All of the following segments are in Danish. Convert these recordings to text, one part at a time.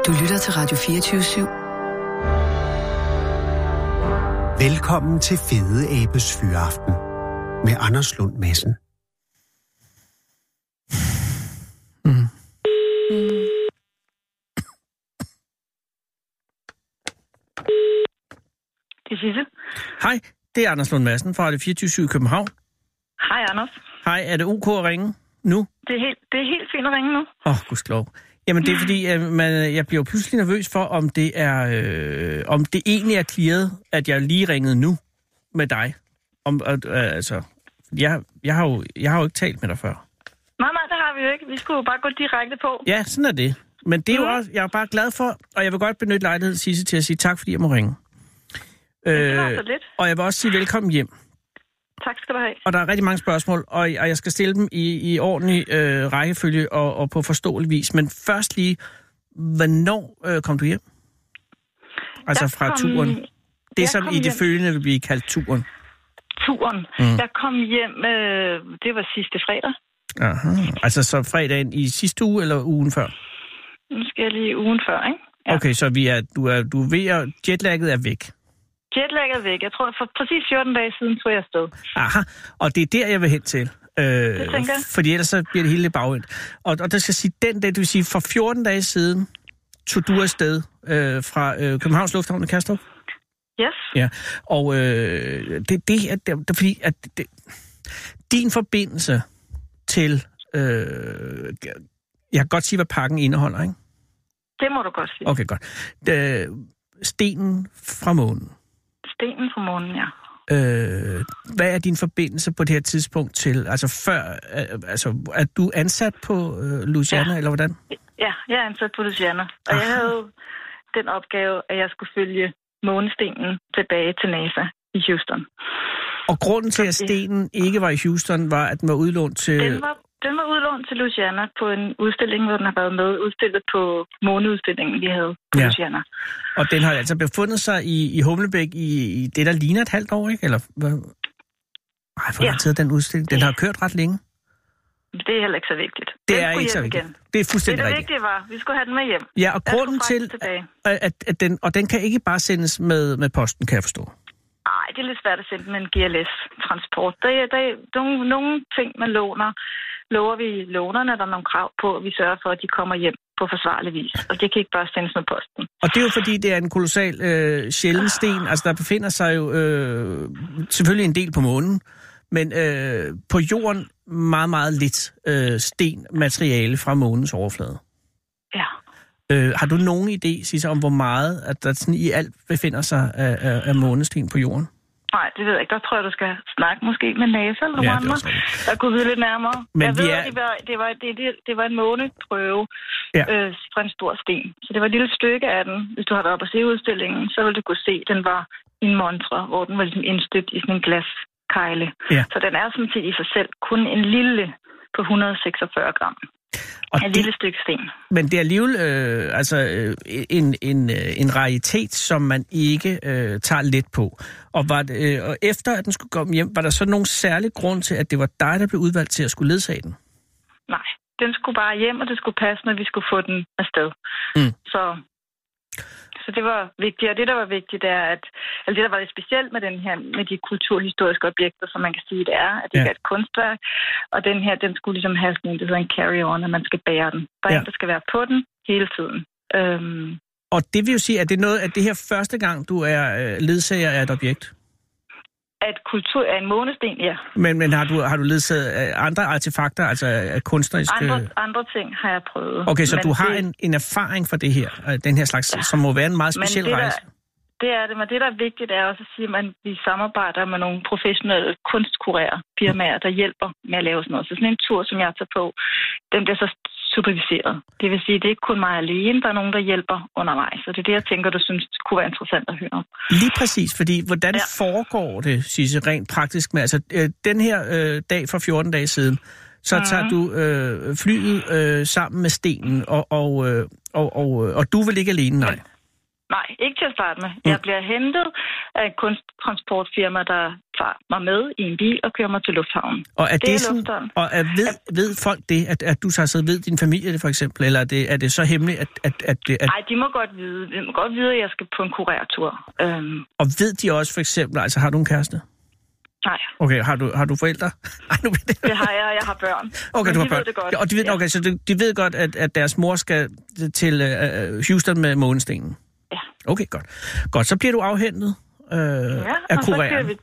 Du lytter til Radio 24/7. Velkommen til Fede Abes Fyraften med Anders Lund Madsen. Det er Sisse. Hej, det er Anders Lund Madsen fra Radio 24/7 i København. Hej, Anders. Hej, er det OK at ringe nu? Det er helt fint at ringe nu. Gudskelov. Jamen, det er fordi, jeg bliver pludselig nervøs for, om det egentlig er clearet, at jeg lige ringede nu med dig. Jeg har jo ikke talt med dig før. Nej, det har vi jo ikke. Vi skulle jo bare gå direkte på. Ja, sådan er det. Men det er jo også, jeg er bare glad for, og jeg vil godt benytte lejligheden, Sisse, til at sige tak, fordi jeg må ringe. Det var så lidt. Og jeg vil også sige velkommen hjem. Tak skal du have. Og der er rigtig mange spørgsmål, og jeg skal stille dem i ordentlig rækkefølge og på forståelig vis. Men først lige, hvornår kom du hjem? Altså fra turen. Det, som i det følgende vil blive kaldt turen. Turen. Jeg kom hjem, det var sidste fredag. Aha. Altså så fredagen i sidste uge eller ugen før? Nu skal jeg lige ugen før, ikke? Ja. Okay, så du er ved at jetlagget er væk. Jetlag er væk. Jeg tror, for præcis 14 dage siden tog jeg afsted. Aha, og det er der, jeg vil hen til. Det tænker jeg. Fordi ellers så bliver det hele lidt bagvendt. Og der skal sige, den dag, det vil sige, for 14 dage siden tog du afsted fra Københavns Lufthavn i Kastrup? Yes. Ja, og det er fordi, at din forbindelse til... jeg kan godt sige, hvad pakken indeholder, ikke? Det må du godt sige. Okay, godt. Stenen fra månen. Stenen fra månen, ja. Hvad er din forbindelse på det her tidspunkt til, altså før, er du ansat på Louisiana, eller hvordan? Ja, jeg er ansat på Louisiana, og jeg havde den opgave, at jeg skulle følge månestenen tilbage til NASA i Houston. Og grunden til, at stenen ikke var i Houston, var, at den var udlånt til... Den var udlånt til Louisiana på en udstilling, hvor den har været med udstillet på måneudstillingen, vi havde på Louisiana. Og den har altså befundet sig i Humlebæk i det, der ligner et halvt år, ikke? Eller hvad? Ej, hvor lang tid den udstilling? Den har kørt ret længe. Det er heller ikke så vigtigt. Det er ikke så vigtigt. Igen. Det er fuldstændig rigtigt. Det vigtige var, vi skulle have den med hjem. Ja, og grunden til, at den kan ikke bare sendes med posten, kan jeg forstå. Nej, det er lidt svært at sende med en GLS-transport. Der er nogle ting, man lover vi lånerne, der er nogle krav på, at vi sørger for, at de kommer hjem på forsvarlig vis. Og det kan ikke bare sendes med posten. Og det er jo fordi, det er en kolossal sjælden sten. Altså, der befinder sig jo selvfølgelig en del på månen, men på jorden meget, meget lidt stenmateriale fra månens overflade. Ja. Har du nogen idé, Sisse, om hvor meget, at der sådan i alt befinder sig af månesten på jorden? Nej, det ved jeg ikke. Der tror jeg, du skal snakke måske med NASA eller nogle andre, der kunne vide lidt nærmere. Men jeg ved, det var en måneprøve fra en stor sten. Så det var et lille stykke af den. Hvis du har været oppe og se udstillingen, så ville du kunne se, at den var i en montre, hvor den var ligesom indstøbt i sådan en glaskejle. Ja. Så den er sådan set i sig selv kun en lille på 146 gram. Og et lille stykke sten. Men det er alligevel en raritet, som man ikke tager let på. Og efter at den skulle komme hjem, var der så nogen særlig grund til, at det var dig, der blev udvalgt til at skulle ledsage den? Nej, den skulle bare hjem, og det skulle passe, når vi skulle få den afsted. Så det var vigtigt, og det, der var vigtigt, er, at det, der var lidt specielt med den her, med de kulturhistoriske objekter, som man kan sige, det er, at det er et kunstværk, og den her, den skulle ligesom have sådan en, det hedder en carry-on, at man skal bære den. Der er en, der skal være på den hele tiden. Og det vil jo sige, at det er noget, at det her første gang, du er ledsager af et objekt? At kultur er en månesten, ja. Men har du ledsaget andre artefakter, altså af kunstneriske... Andre ting har jeg prøvet. Okay, så du har en erfaring for det her, den her slags, som må være en meget speciel rejse. Det er det, men det, der er vigtigt, er også at sige, at vi samarbejder med nogle professionelle kunstkurerfirmaer, der hjælper med at lave sådan noget. Så sådan en tur, som jeg tager på, den bliver så superviseret. Det vil sige, at det er ikke kun mig alene, der er nogen, der hjælper undervejs. Så det er det, jeg tænker, du synes kunne være interessant at høre om. Lige præcis, fordi hvordan foregår det, Sisse, rent praktisk med? Altså, den her dag for 14 dage siden, så tager du flyet sammen med stenen, og du vil ikke alene, nej? Nej, ikke til at starte med. Jeg bliver hentet af et kunsttransportfirma, der mig med i en bil og køre mig til lufthavnen. Og er det sådan, og ved folk det, at du så ved din familie det for eksempel, eller er det så hemmeligt, at Nej, de må godt vide. De må godt vide, at jeg skal på en kurertur. Og ved de også for eksempel, altså har du en kæreste? Nej. Okay, har du forældre? Det har jeg har børn. Okay, du har børn. Ved det godt. Og de ved, okay, så de ved godt, at deres mor skal til Houston med månestenen? Ja. Okay, godt. Så bliver du afhentet af kureren.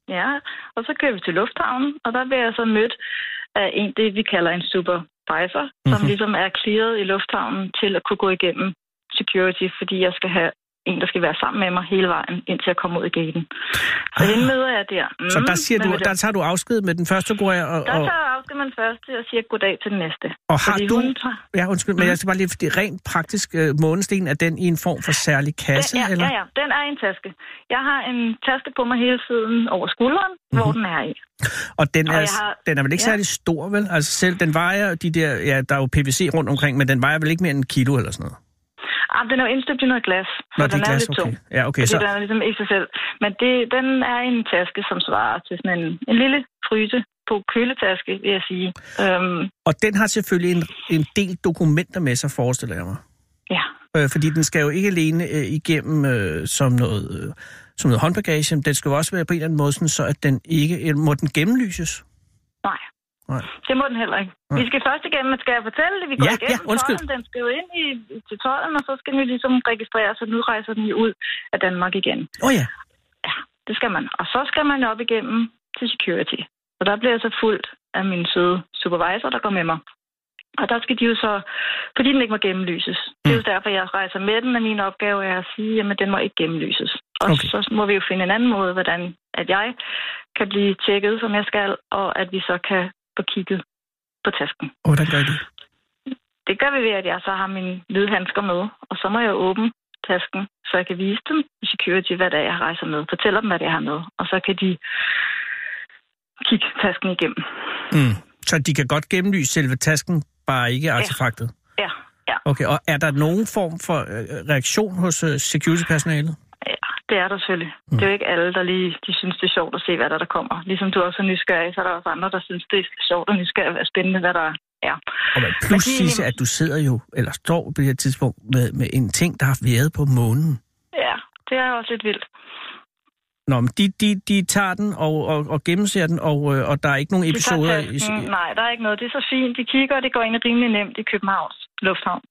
Og så kører vi til lufthavnen, og der bliver jeg så mødt af det, vi kalder en supervisor, som ligesom er clearet i lufthavnen til at kunne gå igennem security, fordi jeg skal have en, der skal være sammen med mig hele vejen, indtil jeg kommer ud i gaten. Så hende møder jeg der. Så der tager du afsked med den første kurer? Der tager jeg afsked med den første og siger goddag til den næste. Og har du... Ja, undskyld, men jeg skal bare lige... Fordi rent praktisk månesten, er den i en form for særlig kasse? Eller? Ja, den er i en taske. Jeg har en taske på mig hele tiden over skulderen, hvor den er i. Og den er vel ikke særlig stor, vel? Altså selv, den vejer de der... Ja, der er jo PVC rundt omkring, men den vejer vel ikke mere end 1 kilo eller sådan noget? Den er jo indstøbt i noget glas, så den er lidt tung. Ja, okay, så... Den er ligesom i sig selv. Men den er en taske, som svarer til sådan en lille fryse på køletaske, vil jeg sige. Og den har selvfølgelig en del dokumenter med sig, forestiller jeg mig. Ja. Fordi den skal jo ikke alene igennem som noget håndbagage. Den skal jo også være på en eller anden måde, sådan, så at den ikke... Må den gennemlyses? Nej. Det må den heller ikke. Nej. Vi skal først igennem, skal jeg fortælle det? Vi går igennem tolden, den skal jo ind til tolden, og så skal den jo ligesom registreres, og nu rejser den jo ud af Danmark igen. Ja. Ja, det skal man. Og så skal man op igennem til security. Og der bliver jeg så fuldt af min søde supervisor, der går med mig. Og der skal de jo så, fordi den ikke må gennemlyses. Det er jo derfor, jeg rejser med den, og min opgave er at sige, jamen den må ikke gennemlyses. Og så må vi jo finde en anden måde, hvordan at jeg kan blive tjekket, som jeg skal, og at vi så kan få kigget på tasken. Hvordan gør det? Det gør vi ved, at jeg så har mine hvide handsker med, og så må jeg åbne tasken, så jeg kan vise dem i security, hvad det er, jeg rejser med. Fortæller dem, hvad det er, jeg har med, og så kan de kigge tasken igennem. Så de kan godt gennemlyse selve tasken, bare ikke artefaktet? Ja. Okay, og er der nogen form for reaktion hos security-personalet? Ja, det er der selvfølgelig. Det er jo ikke alle, der lige synes, det er sjovt at se, hvad der kommer. Ligesom du også er nysgerrig, så er der også andre, der synes, det er sjovt og nysgerrig og spændende, hvad der er. Og plus Sisse, at du sidder jo, eller står på det her tidspunkt, med en ting, der har været på månen. Ja, det er også lidt vildt. Nå, men de tager den og gennemser den, og der er ikke nogen episoder... Nej, der er ikke noget. Det er så fint. De kigger, og det går ind rimelig nemt i Københavns Lufthavn.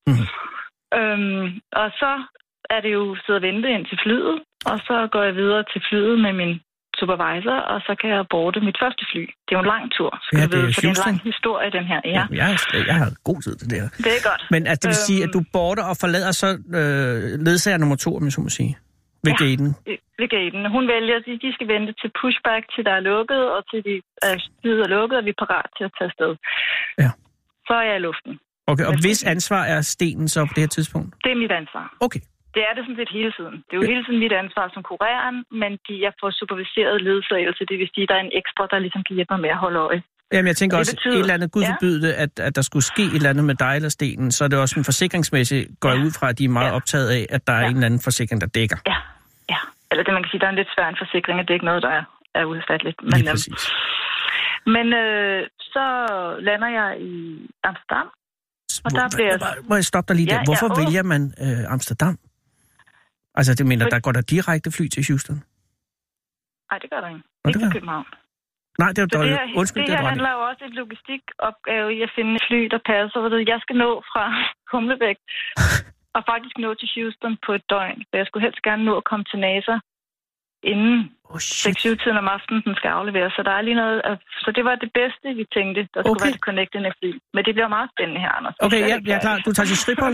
Og så er det jo sidde og vente ind til flyet, og så går jeg videre til flyet med min supervisor, og så kan jeg boarde mit første fly. Det er jo en lang tur, skal du vide, for det er en lang historie, den her. Ja. Jeg har god tid til det her. Det er godt. Men altså, det vil sige, at du boarder og forlader så ledsager nummer 2, om jeg så må sige, ved gaten. Ved gaten. Hun vælger, at de skal vente til pushback, til der er lukket, og til de flyet er lukket, og vi er parat til at tage afsted. Ja. Så er jeg i luften. Okay, og hvis ansvar er stenen så på det her tidspunkt? Det er mit ansvar. Okay. Det er det sådan set hele tiden. Det er jo hele tiden mit ansvar som kureren, men jeg får superviseret ledsagelse. Det vil sige, at der er en ekstra, der ligesom kan hjælpe mig med at holde øje. Jamen, jeg tænker også, et eller andet, Gud forbyde det, at der skulle ske et eller andet med dig eller stenen, så er det også en forsikringsmæssigt, går ud fra, at de er meget optaget af, at der er en eller anden forsikring, der dækker. Ja. Eller det man kan sige, der er en lidt svær en forsikring, at det er ikke noget, der er udfatteligt. Lige præcis. Men så lander jeg i Amsterdam, og der bliver... Må jeg stoppe dig lige der? Hvorfor vælger man Amsterdam? Altså, det mener, der går der direkte fly til Houston? Nej, det gør der ikke. Ikke til København. Nej, det er jo undskyld, det her handler jo også om et logistikopgave i at finde et fly, der passer. Jeg skal nå fra Humlebæk og faktisk nå til Houston på et døgn. Så jeg skulle helst gerne nå at komme til NASA inden 6-7-tiden om aftenen, den skal afleveres. Så der er lige noget... Så det var det bedste, vi tænkte, der skulle være det connectende fly. Men det bliver meget spændende her, Anders. Okay, jeg er klar. Du tager til Schiphol?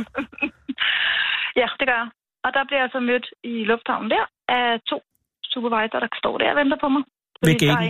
Ja, det gør jeg. Og der bliver jeg så mødt i lufthavnen der af 2 supervisor, der står der og venter på mig. Ved gaten? Der er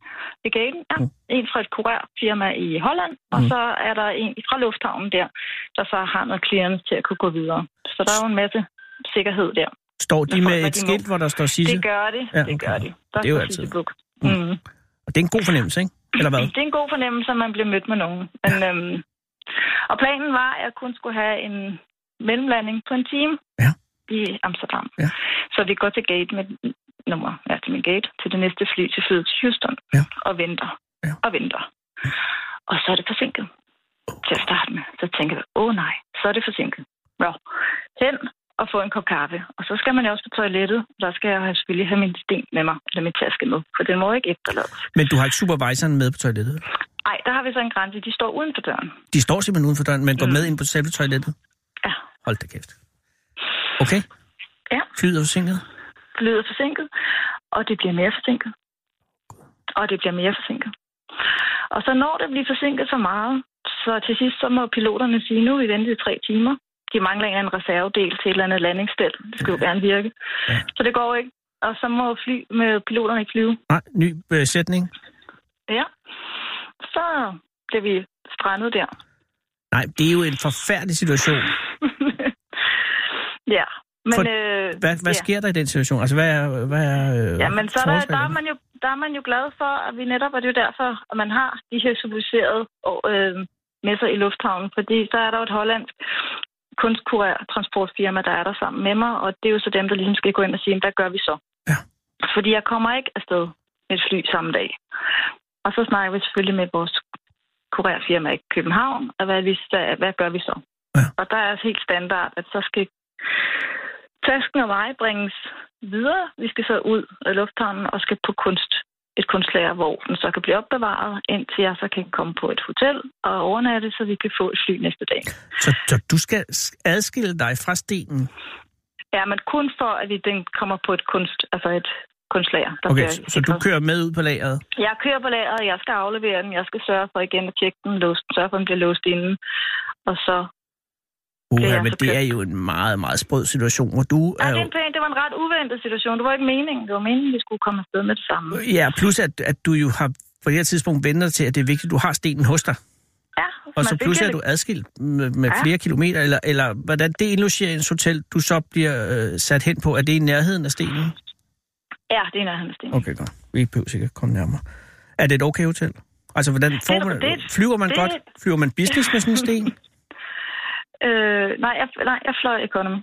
en fra et kurerfirma i Holland, og så er der en fra lufthavnen der så har noget clearance til at kunne gå videre. Så der er jo en masse sikkerhed der. Står de med et skilt, hvor der står Sisse? Det gør de. Ja, okay. Det gør de. Det er jo altid. Og det er en god fornemmelse, ikke? Eller hvad? Det er en god fornemmelse, at man bliver mødt med nogen. Men, og planen var, at jeg kun skulle have en mellemlanding på en time i Amsterdam. Ja. Så vi går til gate nummer, til min gate, til det næste fly til flyet til Houston, og venter, og venter. Og så er det forsinket til at starte med. Så tænker jeg, nej, så er det forsinket. Nå, hen og få en kop kaffe. Og så skal man jo også på toilettet. Der skal jeg selvfølgelig have min sten med mig, eller min taske med, for den må ikke efterlades. Men du har ikke supervisoren med på toilettet? Nej, der har vi så en grænse. De står uden for døren. De står simpelthen uden for døren, men går med ind på selve toilettet? Ja. Hold da kæft. Okay. Ja. Flyet er forsinket? Flyet er forsinket, og det bliver mere forsinket. Og det bliver mere forsinket. Og så når det bliver forsinket så meget, så til sidst så må piloterne sige, nu er vi ventet i 3 timer. De mangler en reservedel til et eller andet landingsstel. Det skal jo gerne virke. Ja. Så det går ikke. Og så må piloterne ikke flyve. Nej, ny sætning. Ja. Så bliver vi strandet der. Nej, det er jo en forfærdelig situation. Ja. Men, hvad sker der i den situation? Altså, hvad er men så der er man jo glad for, at vi netop, og det er jo derfor, at man har de her civiliserede med sig i lufthavnen, fordi så er der jo et hollandsk kunstkurér-transportfirma, der er der sammen med mig, og det er jo så dem, der ligesom skal gå ind og sige, hvad gør vi så? Ja. Fordi jeg kommer ikke afsted med et fly samme dag. Og så snakker vi selvfølgelig med vores kurérfirma i København, og hvad gør vi så? Ja. Og der er helt standard, at så skal tasken og mig bringes videre. Vi skal så ud af lufthavnen og skal på et kunstlager, hvor den så kan blive opbevaret, indtil jeg så kan komme på et hotel og overnatte, så vi kan få et fly næste dag. Så du skal adskille dig fra stenen? Ja, men kun for, at den kommer på et kunstlager. Okay, så du kører med ud på lageret? Jeg kører på lageret, jeg skal aflevere den, jeg skal sørge for igen at tjekke den, sørge for, at den bliver låst inden, og så... men det er jo en meget, meget sprød situation, hvor du er jo... Det var en ret uventet situation. Det var ikke meningen. Det var meningen, at vi skulle komme afsted med det samme. Ja, plus at du jo har på det her tidspunkt ventet til, at det er vigtigt, at du har stenen hos dig. Ja. Og så pludselig er du adskilt med flere kilometer, eller hvordan det indlogeringshotel, du så bliver sat hen på, er det i nærheden af stenen? Ja, det er i nærheden af stenen. Okay, godt. Vi behøver sikkert komme nærmere. Er det et okay hotel? Altså, hvordan flyver man godt? Flyver man business med sådan en sten? Nej, jeg fløj economy.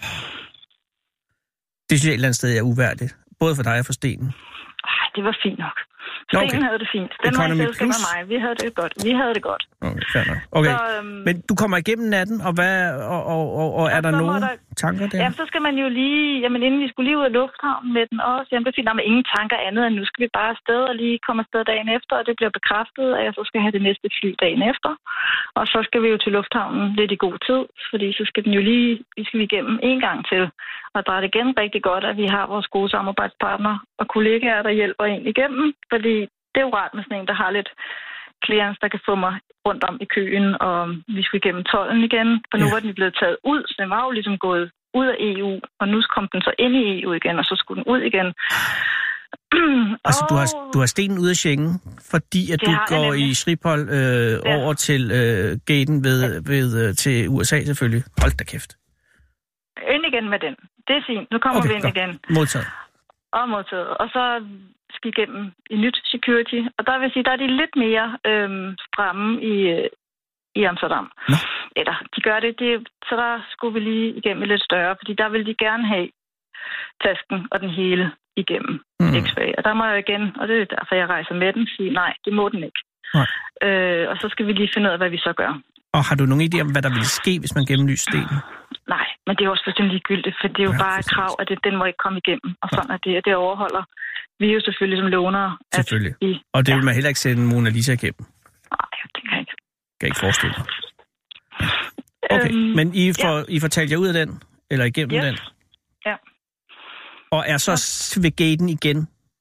Det synes jeg et eller andet sted er uværdigt. Både for dig og for stenen. Det var fint nok. Stenen havde det fint. Den var i selskab med mig. Vi havde det godt. Okay, fair nok. Okay. Så, men du kommer igennem natten, og er der nogle tanker der? Jamen, så skal man jo lige... Jamen, inden vi skulle lige ud af lufthavnen med den også, jamen, det fint, der er ingen tanker andet, end nu skal vi bare afsted og lige komme afsted dagen efter, og det bliver bekræftet, at jeg så skal have det næste fly dagen efter. Og så skal vi jo til lufthavnen lidt i god tid, fordi så skal den jo lige... Vi skal igennem en gang til. Og der er det igen rigtig godt, at vi har vores gode samarbejdspartnere og kollegaer, der hjælper en igennem, fordi det er jo rart med sådan en, der har lidt clearance, der kan få mig rundt om i køen, og vi skulle igennem tolden igen, og nu var den blevet taget ud, så den var jo ligesom gået ud af EU, og nu kom den så ind i EU igen, og så skulle den ud igen. Altså, du har stenen ud af Schengen, fordi at du går i Schiphol over til gaten til USA selvfølgelig. Hold da kæft. Ind igen med den. Det er fint. Nu kommer vi ind igen. Modtaget. Og så skal igennem i nyt security. Og der vil sige, der er de lidt mere stramme i Amsterdam. Nå. Eller de gør det. Så der skulle vi lige igennem lidt større, fordi der vil de gerne have tasken og den hele igennem X-Ray. Og der må jeg igen, og det er derfor, jeg rejser med den, sige nej, det må den ikke. Og så skal vi lige finde ud af, hvad vi så gør. Og har du nogen idé om, hvad der ville ske, hvis man gennemlyser stenen? Nej, men det er også fuldstændig ligegyldigt, for det er jo bare et krav, at den må ikke komme igennem. Og sådan er det, og det overholder vi jo selvfølgelig som lånere. Selvfølgelig. Og det vil man heller ikke sætte en Mona Lisa igennem. Nej, det kan jeg ikke. Kan ikke forestille mig. Okay, men I får talt jer ud af den? Eller igennem den? Ja. Og er så ved gaten igen?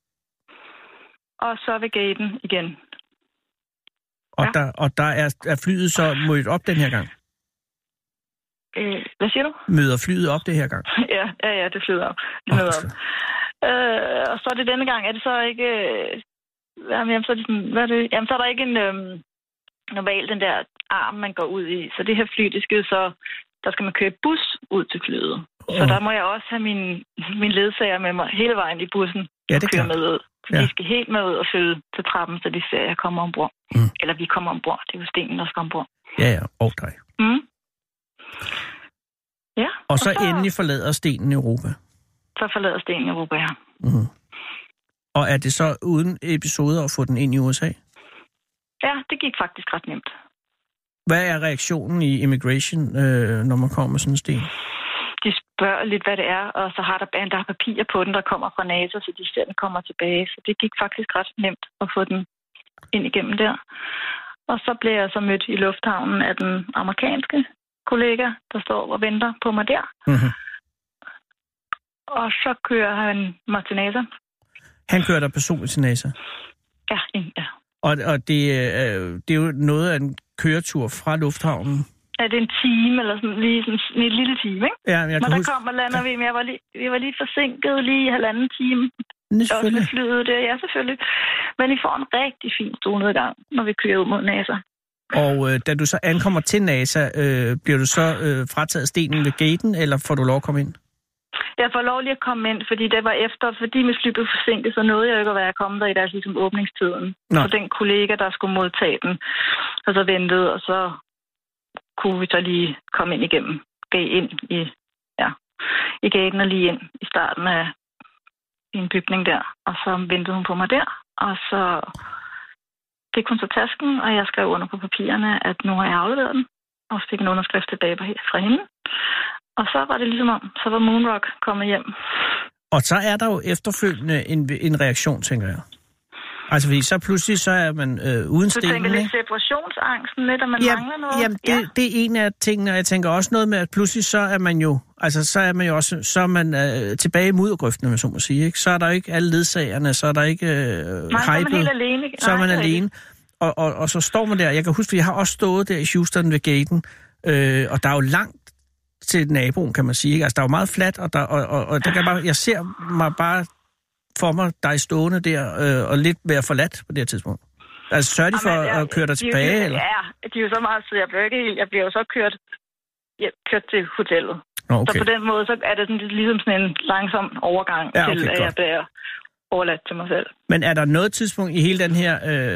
Og så ved gaten igen. Og der er flyet så mødt op den her gang? Hvad siger du? Møder flyet op det her gang? Ja, det flyder op. Det møder op. Og så er det denne gang, er det så ikke... Jamen, så er det sådan, hvad er det? Jamen, så er der ikke en normalt den der arm, man går ud i. Så det her fly, det skal så... Der skal man køre bus ud til flyet. Så der må jeg også have min ledsager med mig hele vejen i bussen. Ja, det kører med ud. Så de skal helt med ud og følge til trappen, så de ser, at jeg kommer ombord. Eller vi kommer ombord. Det er jo stenen, der skal ombord. Ja, og dig. Ja. Og så endelig forlader stenen Europa. så forlader Sten Europa. Mm. Og er det så uden episoder at få den ind i USA? Ja, det gik faktisk ret nemt. Hvad er reaktionen i immigration, når man kommer med sådan en sten? De spørger lidt, hvad det er, og så har der papirer på den, der kommer fra NASA, så de ser, den kommer tilbage. Så det gik faktisk ret nemt at få den ind igennem der. Og så blev jeg så mødt i lufthavnen af den amerikanske kollega, der står og venter på mig der. Mm-hmm. Og så kører han mig til NASA. Han kører dig personligt til NASA? Ja. Og det er jo noget af en køretur fra lufthavnen? Ja, det er en time, eller sådan, lige sådan en lille time, ikke? Ja, men der kom og lander vi, men vi var lige forsinket, lige 1,5 time. Også med flyet der, ja, selvfølgelig. Men I får en rigtig fin solnedgang, når vi kører ud mod NASA. Og da du så ankommer til NASA, bliver du så frataget stenen ved gaten, eller får du lov at komme ind? Jeg får lov lige at komme ind, fordi det var fordi mit fly blev forsinket, så nåede jeg ikke at være kommet der i deres ligesom åbningstiden. Så den kollega, der skulle modtage den, og så ventede, og så kunne vi så lige komme ind igennem, i gaten og lige ind i starten af en bygning der. Og så ventede hun på mig der, og så fik hun så tasken, og jeg skrev under på papirerne, at nu har jeg afleveret den, og fik en underskrift tilbage fra hende. Og så var det ligesom om, så var Moonrock kommet hjem. Og så er der jo efterfølgende en reaktion, tænker jeg. Altså, fordi så pludselig så er man uden stenen, du tænker lidt separationsangsten lidt, at man mangler noget? Jamen, det er en af tingene, og jeg tænker også noget med, at pludselig så er man jo, så er man tilbage i muddergrøften, hvis man må sige, ikke? Så er der ikke alle ledsagerne, så er der ikke hypet. Så er man helt alene. Så er man alene. Og så står man der, jeg kan huske, at jeg har også stået der i Houston ved gaten, og der er jo langt til naboen, kan man sige, ikke? Altså, der er jo meget fladt, og der kan jeg ser mig bare for mig dig stående der, og lidt være forladt på det her tidspunkt. Altså, sørger de for at køre dig tilbage, eller? Ja, de er jo så meget søde. Jeg bliver jo så kørt til hotellet. Okay. Så på den måde, så er det sådan, ligesom sådan en langsom overgang til, at jeg bliver overladt til mig selv. Men er der noget tidspunkt i hele den her,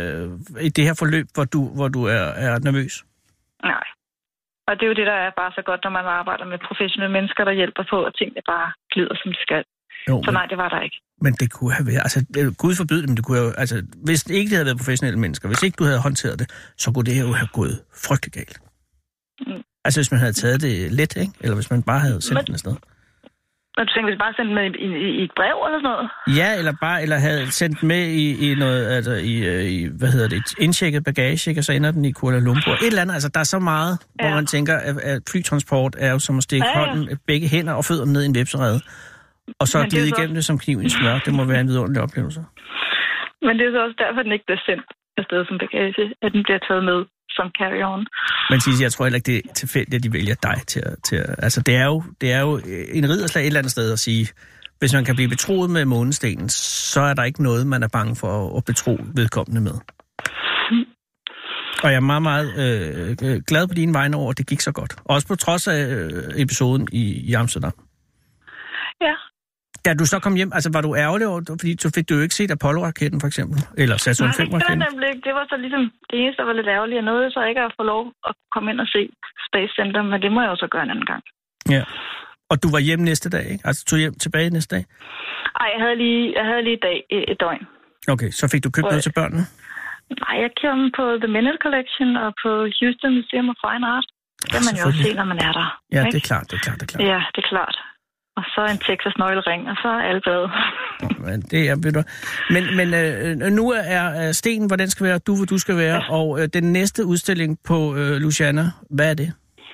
i det her forløb, hvor du er nervøs? Nej. Og det er jo det, der er bare så godt, når man arbejder med professionelle mennesker, der hjælper på, at tingene bare glider, som de skal. Jo, så nej, det var der ikke. Men det kunne have været, altså Gud forbyde det, men det kunne jo, altså hvis ikke det havde været professionelle mennesker, hvis ikke du havde håndteret det, så kunne det jo have gået frygtelig galt. Mm. Altså hvis man havde taget det let, ikke? Eller hvis man bare havde sendt den afsted. Men du tænker, hvis bare sendt med i et brev eller sådan noget? Ja, eller havde sendt med i noget, altså i indtjekket bagage, ikke? Og så ender den i Kuala Lumpur. Et eller andet, altså der er så meget, hvor man tænker, at flytransport er jo som at stikke hånden, begge hænder og fødderne ned i en vepserede. Og så glide igennem det som kniven i smør. Det må være en vidunderlig oplevelse. Men det er så også derfor, at den ikke bliver sendt afsted som bagage, at den bliver taget med som carry-on. Men Sisse, jeg tror heller ikke, det er tilfældigt, at de vælger dig til altså, det er jo en ridderslag et eller andet sted at sige, hvis man kan blive betroet med månestenen, så er der ikke noget, man er bange for at betro vedkommende med. Og jeg er meget, meget glad på dine vegne over, at det gik så godt. Også på trods af episoden i Amsterdam. Ja. Da du så kom hjem, altså var du ærgerlig over, fordi så fik du jo ikke set Apollo-raketten for eksempel, eller Saturn 5-raketten? Nej, det var så ligesom det eneste, der var lidt ærgerligt. Jeg nåede så ikke at få lov at komme ind og se Space Center, men det må jeg også gøre en anden gang. Ja. Og du var hjemme næste dag, ikke? Altså tog hjem tilbage næste dag? Nej, jeg havde lige et døgn. Okay, så fik du købt noget til børnene? Nej, jeg kom på The Minute Collection og på Houston Museum of Fine Art. Det kan man jo også se, når man er der. Ja, ikke? det er klart. Ja, det er klart. Og så en Texas-nøglering, og så er alle glade. Men det er, ved du. Men nu er stenen, hvor den skal være, hvor du skal være, og den næste udstilling på Louisiana, hvad er det?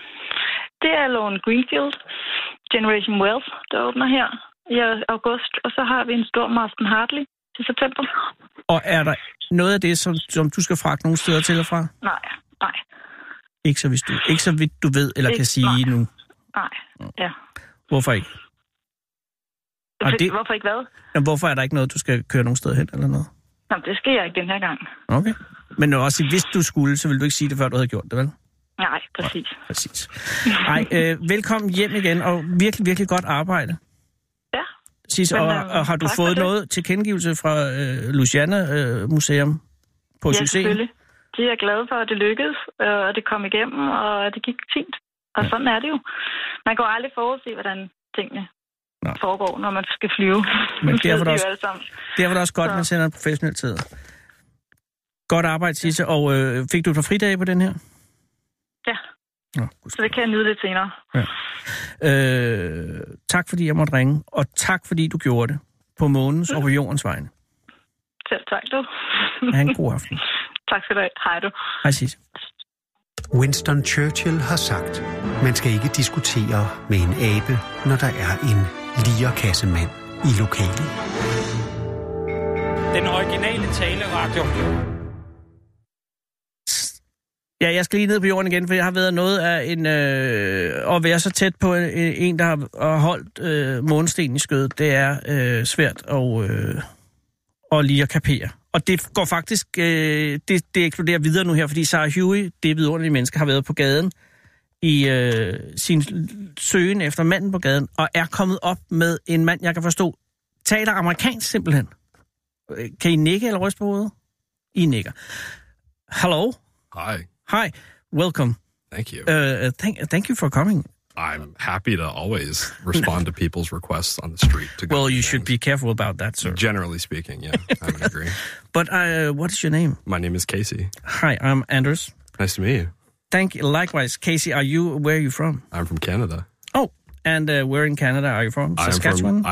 Det er Lorne Greenfield, Generation Wealth, der åbner her i august, og så har vi en stor Marston Hartley til september. Og er der noget af det, som du skal fragte nogle steder til og fra? Nej. Ikke så vidt du ved, eller kan sige nu? Nej, ja. Hvorfor ikke? Hvorfor ikke hvad? Jamen, hvorfor er der ikke noget, du skal køre nogen sted hen, eller noget? Nå, det skal jeg ikke den her gang. Okay. Men også, hvis du skulle, så ville du ikke sige det, før du havde gjort det, vel? Nej, præcis. Ja, præcis. Velkommen hjem igen, og virkelig, virkelig godt arbejde. Ja. Sidst, og har du fået noget tilkendegivelse fra Louisiana Museum på succes? Ja, selvfølgelig. De er glade for, at det lykkedes, og det kom igennem, og det gik fint. Og sådan er det jo. Man kan jo aldrig forudse, hvordan tingene foregår, når man skal flyve. Men derfor er det også godt, at man sender en professionel tid. Godt arbejde, Sisse. Og fik du et par fridage på den her? Ja. Så det kan jeg nyde lidt senere. Ja. Tak fordi jeg måtte ringe, og tak fordi du gjorde det på månens og på jordens vegne. Selv tak, du. Ha' en god aften. Tak skal du have. Hej du. Hej, Sisse. Winston Churchill har sagt, man skal ikke diskutere med en abe, når der er en lierkassemand i lokalet. Den originale taleradio. Ja, jeg skal lige ned på jorden igen, for jeg har været noget af en... at være så tæt på en, der har holdt månesten i skødet, det er svært at lige at kapere. Og det går faktisk... det eksploderer videre nu her, fordi Sarah Huey, det vidunderlige menneske, har været på gaden i sin søgen efter manden på gaden, og er kommet op med en mand, jeg kan forstå, taler amerikansk simpelthen. Kan I nikke eller ryste på hovedet? I nikker. Hello? Hi, welcome. Thank you. Thank you for coming. I'm happy to always respond to people's requests on the street. Well, you should be careful about that, sir. Generally speaking, yeah, I would agree. But what is your name? My name is Casey. Hi, I'm Anders. Nice to meet you. Thank you. Likewise, Casey, where are you from? I'm from Canada. Oh, and where in Canada are you from? Saskatchewan?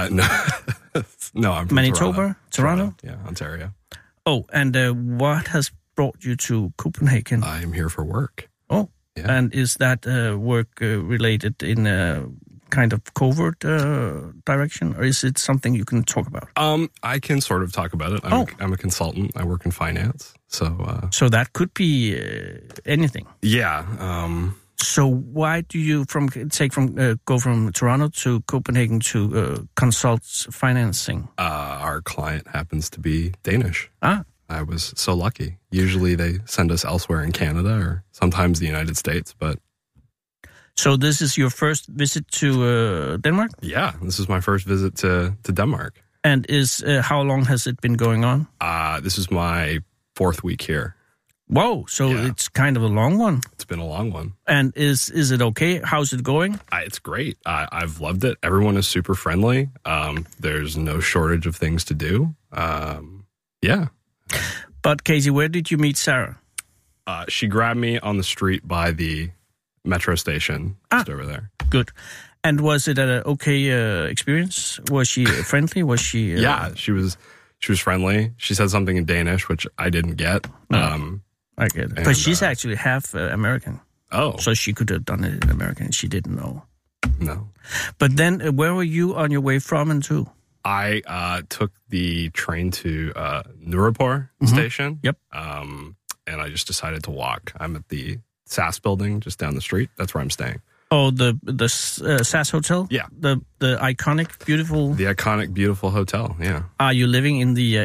No, I'm from Manitoba? Toronto? Yeah, Ontario. Oh, and what has brought you to Copenhagen? I'm here for work. Oh, yeah. And is that work related in a kind of covert direction, or is it something you can talk about? I can sort of talk about it. I'm a consultant. I work in finance, so that could be anything. Yeah. So why do you go from Toronto to Copenhagen to consult financing? Our client happens to be Danish. Ah. I was so lucky. Usually they send us elsewhere in Canada or sometimes the United States, but... So this is your first visit to Denmark? Yeah, this is my first visit to Denmark. And how long has it been going on? This is my 4th week here. Whoa, so yeah. It's kind of a long one. It's been a long one. And is it okay? How's it going? It's great. I've loved it. Everyone is super friendly. There's no shortage of things to do. Yeah. But Casey, where did you meet Sarah? She grabbed me on the street by the metro station just over there. Good. And was it an okay experience? Was she friendly? Was she? Yeah, she was friendly. She said something in Danish, which I didn't get. I get it. Because she's actually half American. Oh. So she could have done it in American. She didn't know. No. But then where were you on your way from and to? I took the train to Nørreport station. Yep. And I just decided to walk. I'm at the SAS building just down the street. That's where I'm staying. Oh, the SAS hotel? Yeah. The iconic, beautiful... The iconic, beautiful hotel, yeah. Are you living in the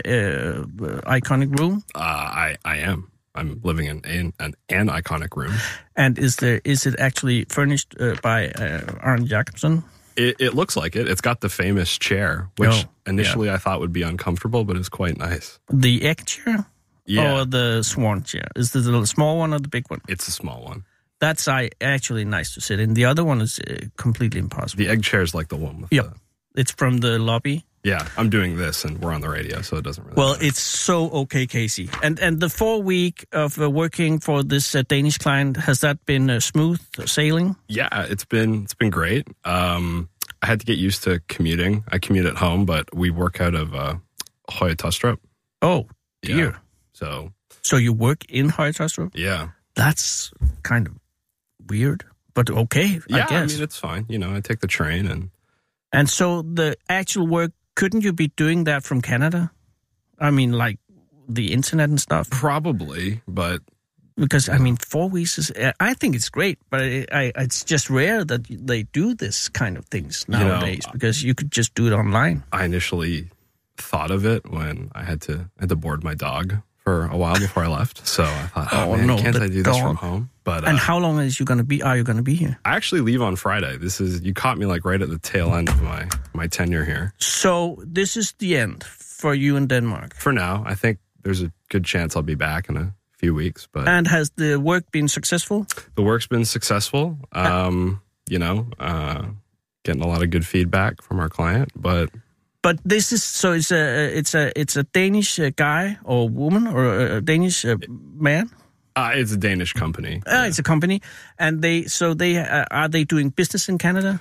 iconic room? I am. I'm living in an iconic room. And is it actually furnished by Arne Jacobsen? It looks like it. It's got the famous chair, which initially I thought would be uncomfortable, but it's quite nice. The egg chair? Yeah. Or the swan chair? Is this the small one or the big one? It's a small one. That's actually nice to sit in. The other one is completely impossible. The egg chair is like the one with It's from the lobby. Yeah, I'm doing this and we're on the radio, so it doesn't really matter. It's so okay, Casey. And the 4 week of working for this Danish client, has that been smooth sailing? Yeah, it's been great. I had to get used to commuting. I commute at home, but we work out of Høje Taastrup. Oh, dear. Yeah, so you work in Høje Taastrup? Yeah. That's kind of weird, but okay, I guess. I mean, it's fine. I take the train And so the actual work, couldn't you be doing that from Canada? I mean, like the internet and stuff? Probably, but... Because, I mean, 4 weeks is... I think it's great, but it's just rare that they do this kind of things nowadays, because you could just do it online. I initially thought of it when I had to board my dog for a while before I left. So I thought, can't I do this from home? But and how long are you going to be here? I actually leave on Friday. You caught me like right at the tail end of my tenure here. So this is the end for you in Denmark? For now. I think there's a good chance I'll be back in a few weeks. And has the work been successful? The work's been successful. getting a lot of good feedback from our client, but this is so it's a Danish guy or woman or a Danish man. It's a Danish company. It's a company, and are they doing business in Canada?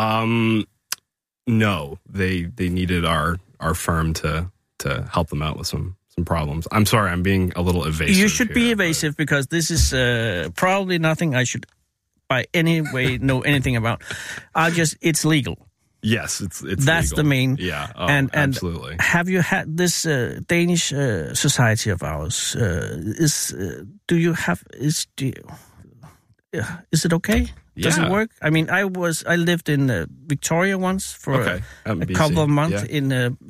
No, they needed our firm to help them out with some problems. I'm sorry, I'm being a little evasive. You should be evasive because this is probably nothing I should by any way know anything about. It's legal. Yes, it's that's legal. The main. Yeah, and absolutely. Have you had this Danish society of ours? Is it okay? Does it work? I mean, I lived in Victoria once for a couple of months in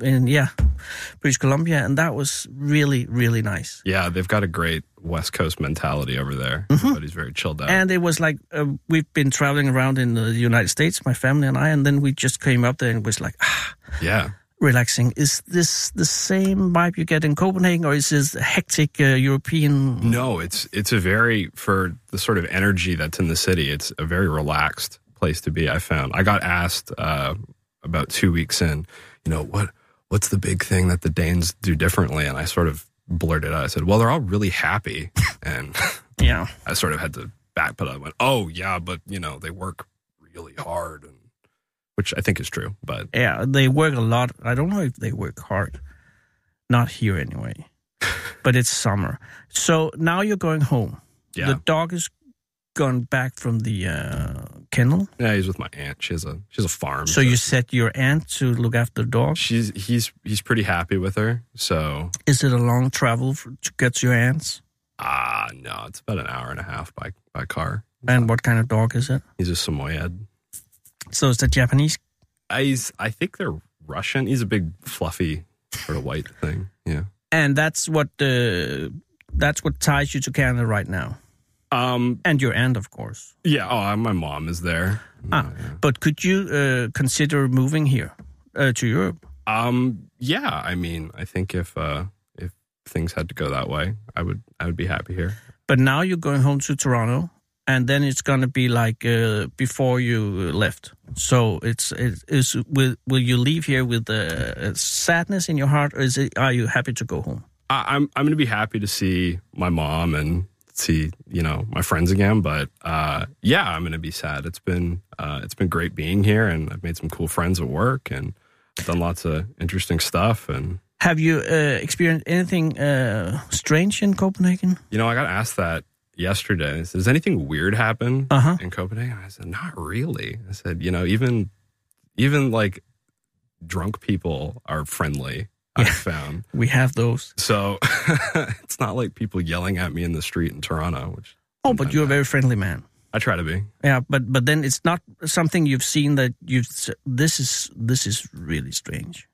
British Columbia, and that was really, really nice. Yeah, they've got a great West Coast mentality over there. Mm-hmm. Everybody's very chilled out. And it was like, we've been traveling around in the United States, my family and I, and then we just came up there and it was like, relaxing. Is this the same vibe you get in Copenhagen, or is this hectic European? No, it's a very, for the sort of energy that's in the city, it's a very relaxed place to be, I found. I got asked about 2 weeks in, what's the big thing that the Danes do differently? And I sort of blurted out. I said, well, they're all really happy. And I sort of had to backpedal. I went, oh, yeah, but, they work really hard, which I think is true. But yeah, they work a lot. I don't know if they work hard. Not here anyway. But it's summer. So now you're going home. Yeah. The dog is gone back from the kennel. Yeah, he's with my aunt. She has a farm. So you set your aunt to look after the dog? He's pretty happy with her. So is it a long travel to get to your aunt's? No, it's about an hour and a half by car. And what kind of dog is it? He's a Samoyed. So is that Japanese? I think they're Russian. He's a big, fluffy, sort of white thing. Yeah. And that's what ties you to Canada right now. And your aunt, of course. Yeah. My mom is there. But could you consider moving here to Europe? Yeah. I mean, I think if things had to go that way, I would be happy here. But now you're going home to Toronto. And then it's going to be like before you left. So will you leave here with sadness in your heart, or are you happy to go home? I'm going to be happy to see my mom and see my friends again. But I'm going to be sad. It's been great being here, and I've made some cool friends at work, and done lots of interesting stuff. And have you experienced anything strange in Copenhagen? I got asked that yesterday. I said, does anything weird happen in Copenhagen? I said, not really. I said, even like drunk people are friendly, I've found. We have those. So it's not like people yelling at me in the street in Toronto. But you're a very friendly man. I try to be. Yeah, but then it's not something you've seen that this is really strange.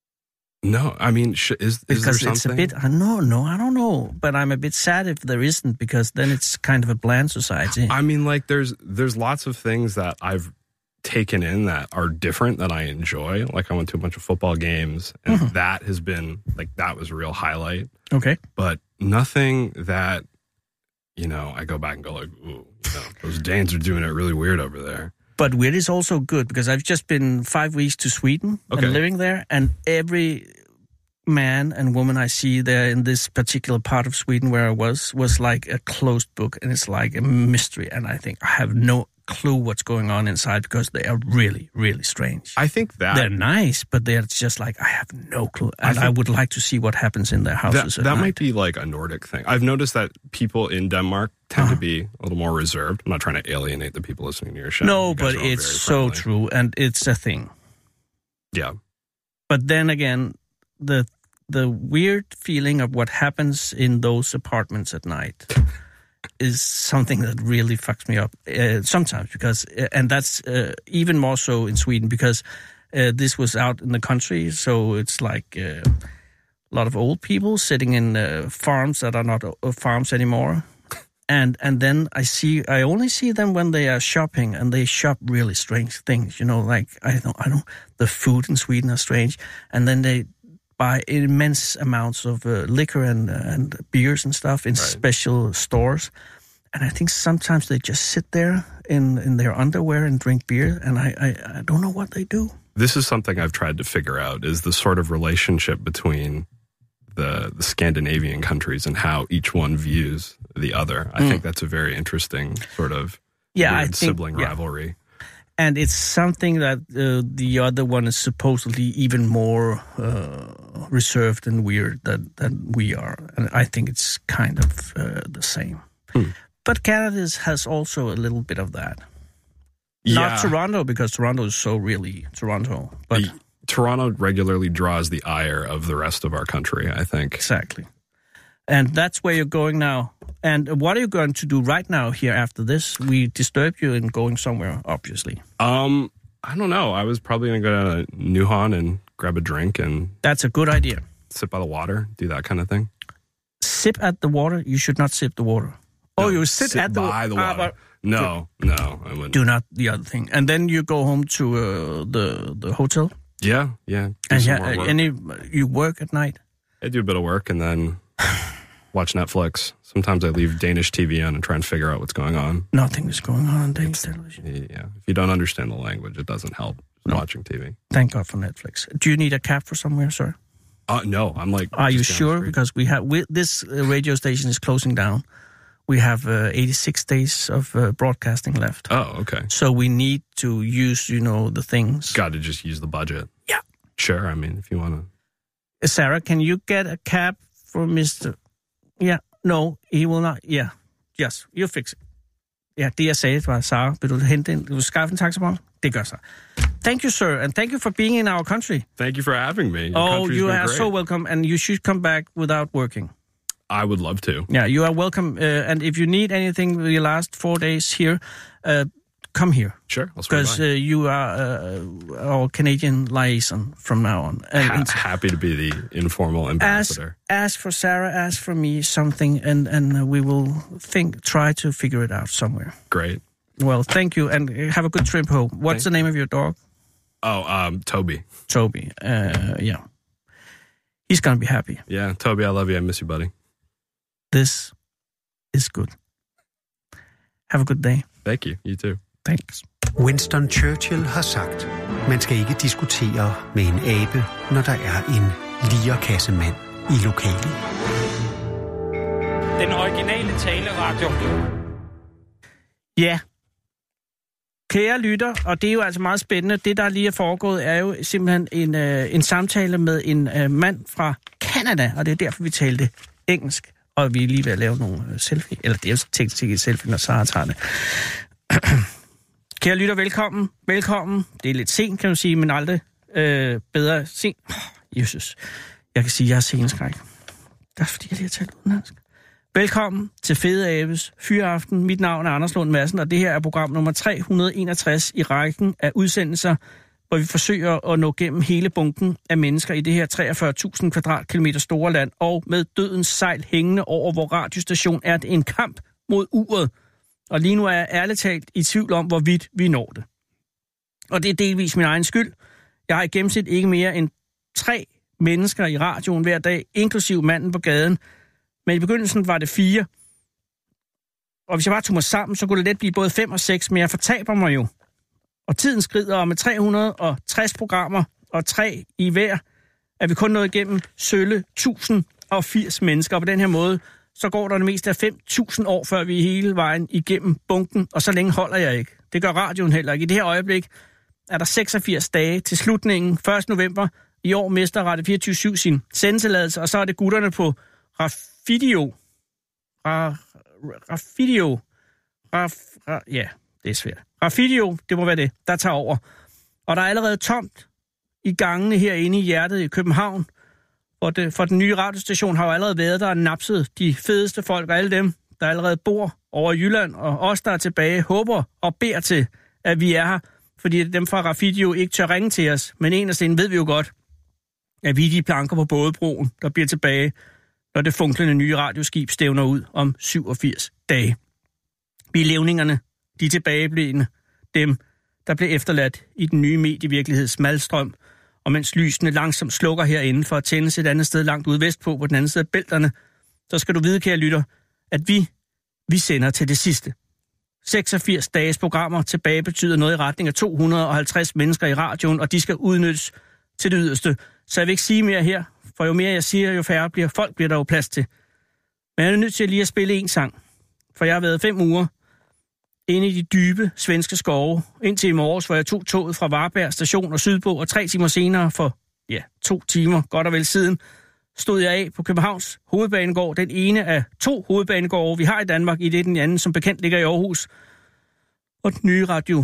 No, I mean, is there something? It's a bit. No, I don't know. But I'm a bit sad if there isn't, because then it's kind of a bland society. I mean, like there's lots of things that I've taken in that are different that I enjoy. Like I went to a bunch of football games, and that has been that was a real highlight. Okay, but nothing that I go back and go like, ooh, those Danes are doing it really weird over there. But weird is also good, because I've just been 5 weeks to Sweden and living there, and every man and woman I see there in this particular part of Sweden where I was like a closed book, and it's like a mystery, and I think I have no clue what's going on inside, because they are really, really strange. I think that they're nice, but they're just like, I have no clue, and I would like to see what happens in their houses. That might be like a Nordic thing. I've noticed that people in Denmark tend to be a little more reserved. I'm not trying to alienate the people listening to your show. No, but it's so true, and it's a thing. Yeah. But then again, the weird feeling of what happens in those apartments at night is something that really fucks me up sometimes, because, and that's even more so in Sweden, because this was out in the country, so it's like a lot of old people sitting in farms that are not farms anymore. And then I only see them when they are shopping, and they shop really strange things, like, I don't, the food in Sweden are strange, and then they buy immense amounts of liquor and beers and stuff in special stores. And I think sometimes they just sit there in their underwear and drink beer, and I don't know what they do. This is something I've tried to figure out, is the sort of relationship between the Scandinavian countries and how each one views the other. I think that's a very interesting sort of sibling rivalry. And it's something that the other one is supposedly even more reserved and weird than we are. And I think it's kind of the same. But Canada has also a little bit of that. Yeah. Not Toronto, because Toronto is so really Toronto. But Toronto regularly draws the ire of the rest of our country, I think. Exactly. And that's where you're going now. And what are you going to do right now here after this? We disturbed you in going somewhere, obviously. I don't know. I was probably going to go to Nuhan and grab a drink and... That's a good idea. Sit by the water, do that kind of thing. Sip at the water? You should not sip the water. No, you sit at by the water. No, I wouldn't. Do not the other thing. And then you go home to the hotel? Yeah. And you work at night? I do a bit of work and then watch Netflix. Sometimes I leave Danish TV on and try and figure out what's going on. Nothing is going on Danish television. Yeah. If you don't understand the language, it doesn't help watching TV. Thank God for Netflix. Do you need a cab for somewhere, sir? No, I'm like... Are you sure? Because this radio station is closing down. We have 86 days of broadcasting left. Oh, okay. So we need to use, the things. Got to just use the budget. Yeah. Sure, I mean, if you want to... Sarah, can you get a cab for Mr... Yeah, no, he will not. Yeah, yes, you fix it. Ja, det jeg sagde var, Sarah, vil du hente en... Vil du skaffe en taxa på mig? Det gør så. Thank you, sir, and thank you for being in our country. Thank you for having me. You are so welcome, and you should come back without working. I would love to. Yeah, you are welcome. And if you need anything the last 4 days here, come here. Sure, I'll swing by. Because you are our Canadian liaison from now on. And happy to be the informal ambassador. Ask for Sarah, ask for me something, and we will try to figure it out somewhere. Great. Well, thank you, and have a good trip home. What's the name of your dog? Oh, Toby. Toby, yeah. He's going to be happy. Yeah, Toby, I love you. I miss you, buddy. This is good. Have a good day. Thank you. You too. Thanks. Winston Churchill har sagt, man skal ikke diskutere med en abe, når der er en lierkassemand i lokalet. Den originale taleradio. Ja. Kære lytter, og det er jo altså meget spændende. Det, der lige er foregået, er jo simpelthen en samtale med en mand fra Canada, og det er derfor, vi talte engelsk. Og vi er lige ved at lave nogle selfie. Eller det er jo teknisk ikke et selfie, når Sarah tager det. Kære lytter, velkommen. Velkommen. Det er lidt sent, kan man sige, men aldrig bedre sent. Jesus. Jeg kan sige, at jeg har sceneskræk. Det er fordi, jeg lige har talt udenlandsk. Velkommen til Fede Abes Fyraften. Mit navn er Anders Lund Madsen, og det her er program nummer 361 i rækken af udsendelser, hvor vi forsøger at nå gennem hele bunken af mennesker i det her 43.000 kvadratkilometer store land, og med dødens sejl hængende over vor radiostation er det en kamp mod uret. Og lige nu er jeg ærligt talt i tvivl om, hvorvidt vi når det. Og det er delvis min egen skyld. Jeg har i gennemsnit ikke mere end 3 mennesker i radioen hver dag, inklusiv manden på gaden. Men i begyndelsen var det 4. Og hvis jeg bare tog mig sammen, så kunne det let blive både 5 og 6, men jeg fortaber mig jo. Og tiden skrider, og med 360 programmer og 3 i hver, er vi kun nået igennem sølle 1080 mennesker. Og på den her måde, så går der det meste af 5.000 år, før vi er hele vejen igennem bunken, og så længe holder jeg ikke. Det gør radioen heller ikke. I det her øjeblik er der 86 dage til slutningen. 1. november i år mister Radio 24/7 sin sendetilladelse, og så er det gutterne på Rafidio. Ja, det er svært. Rafidio, det må være det, der tager over. Og der er allerede tomt i gangene herinde i hjertet i København. For den nye radiostation har jo allerede været der og napset de fedeste folk og alle dem, der allerede bor over i Jylland. Og os, der er tilbage, håber og beder til, at vi er her. Fordi dem fra Rafidio ikke tør ringe til os. Men eneste ved vi jo godt, at vi er de planker på bådebroen, der bliver tilbage, når det funklende nye radioskib stævner ud om 87 dage. Vi er levningerne, de tilbageblivende, dem, der blev efterladt i den nye medievirkeligheds malstrøm, og mens lysene langsomt slukker herinde for at tændes et andet sted langt ude vestpå på den anden side af bælterne, så skal du vide, kære lytter, at vi Vi sender til det sidste. 86 dages programmer tilbage betyder noget i retning af 250 mennesker i radioen, og de skal udnyttes til det yderste. Så jeg vil ikke sige mere her, for jo mere jeg siger, jo færre bliver der jo plads til. Men jeg er nødt til lige at spille en sang, for jeg har været 5 uger inde i de dybe svenske skove, indtil i morges, hvor jeg tog toget fra Varberg station og sydpå, og 3 timer senere, for 2 timer, godt og vel siden, stod jeg af på Københavns hovedbanegård, den ene af 2 hovedbanegårde, vi har i Danmark, i det den anden, som bekendt ligger i Aarhus. Og den nye radio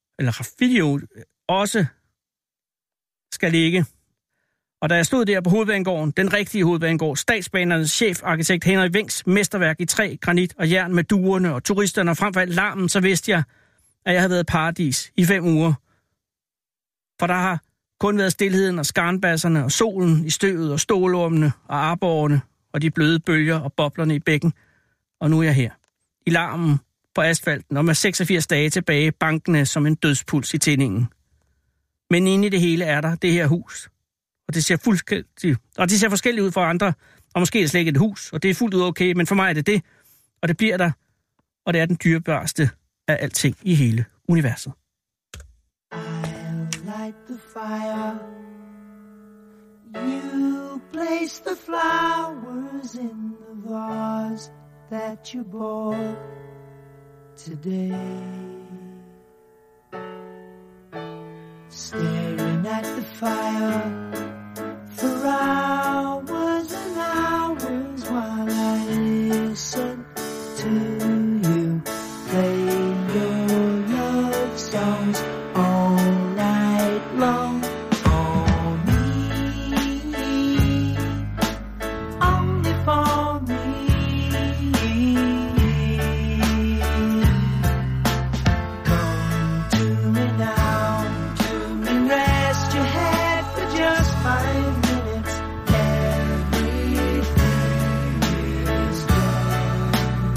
også skal ligge. Og da jeg stod der på hovedbanegården, den rigtige hovedbanegård, Statsbanernes chefarkitekt Henrik Wengs mesterværk i træ, granit og jern med duerne og turisterne og frem for alt larmen, så vidste jeg, at jeg havde været paradis i 5 uger. For der har kun været stilheden og skarnbasserne og solen i støvet og stålormene og arborgerne og de bløde bølger og boblerne i bækken. Og nu er jeg her, i larmen på asfalten og med 86 dage tilbage, bankende som en dødspuls i tændingen. Men inde i det hele er der det her hus. Og det ser forskelligt ud for andre, og måske er det slet ikke et hus, og det er fuldt ud okay, men for mig er det det, og det bliver der, og det er den dyrebarste af alting i hele universet. I'll light the fire. You place the flowers in the vase that you bought today. Staring at the fire for hours and hours while I listen to you play your love songs all night long. For me, only for me. Come to me now and rest your head for just 5 minutes. Everything is done.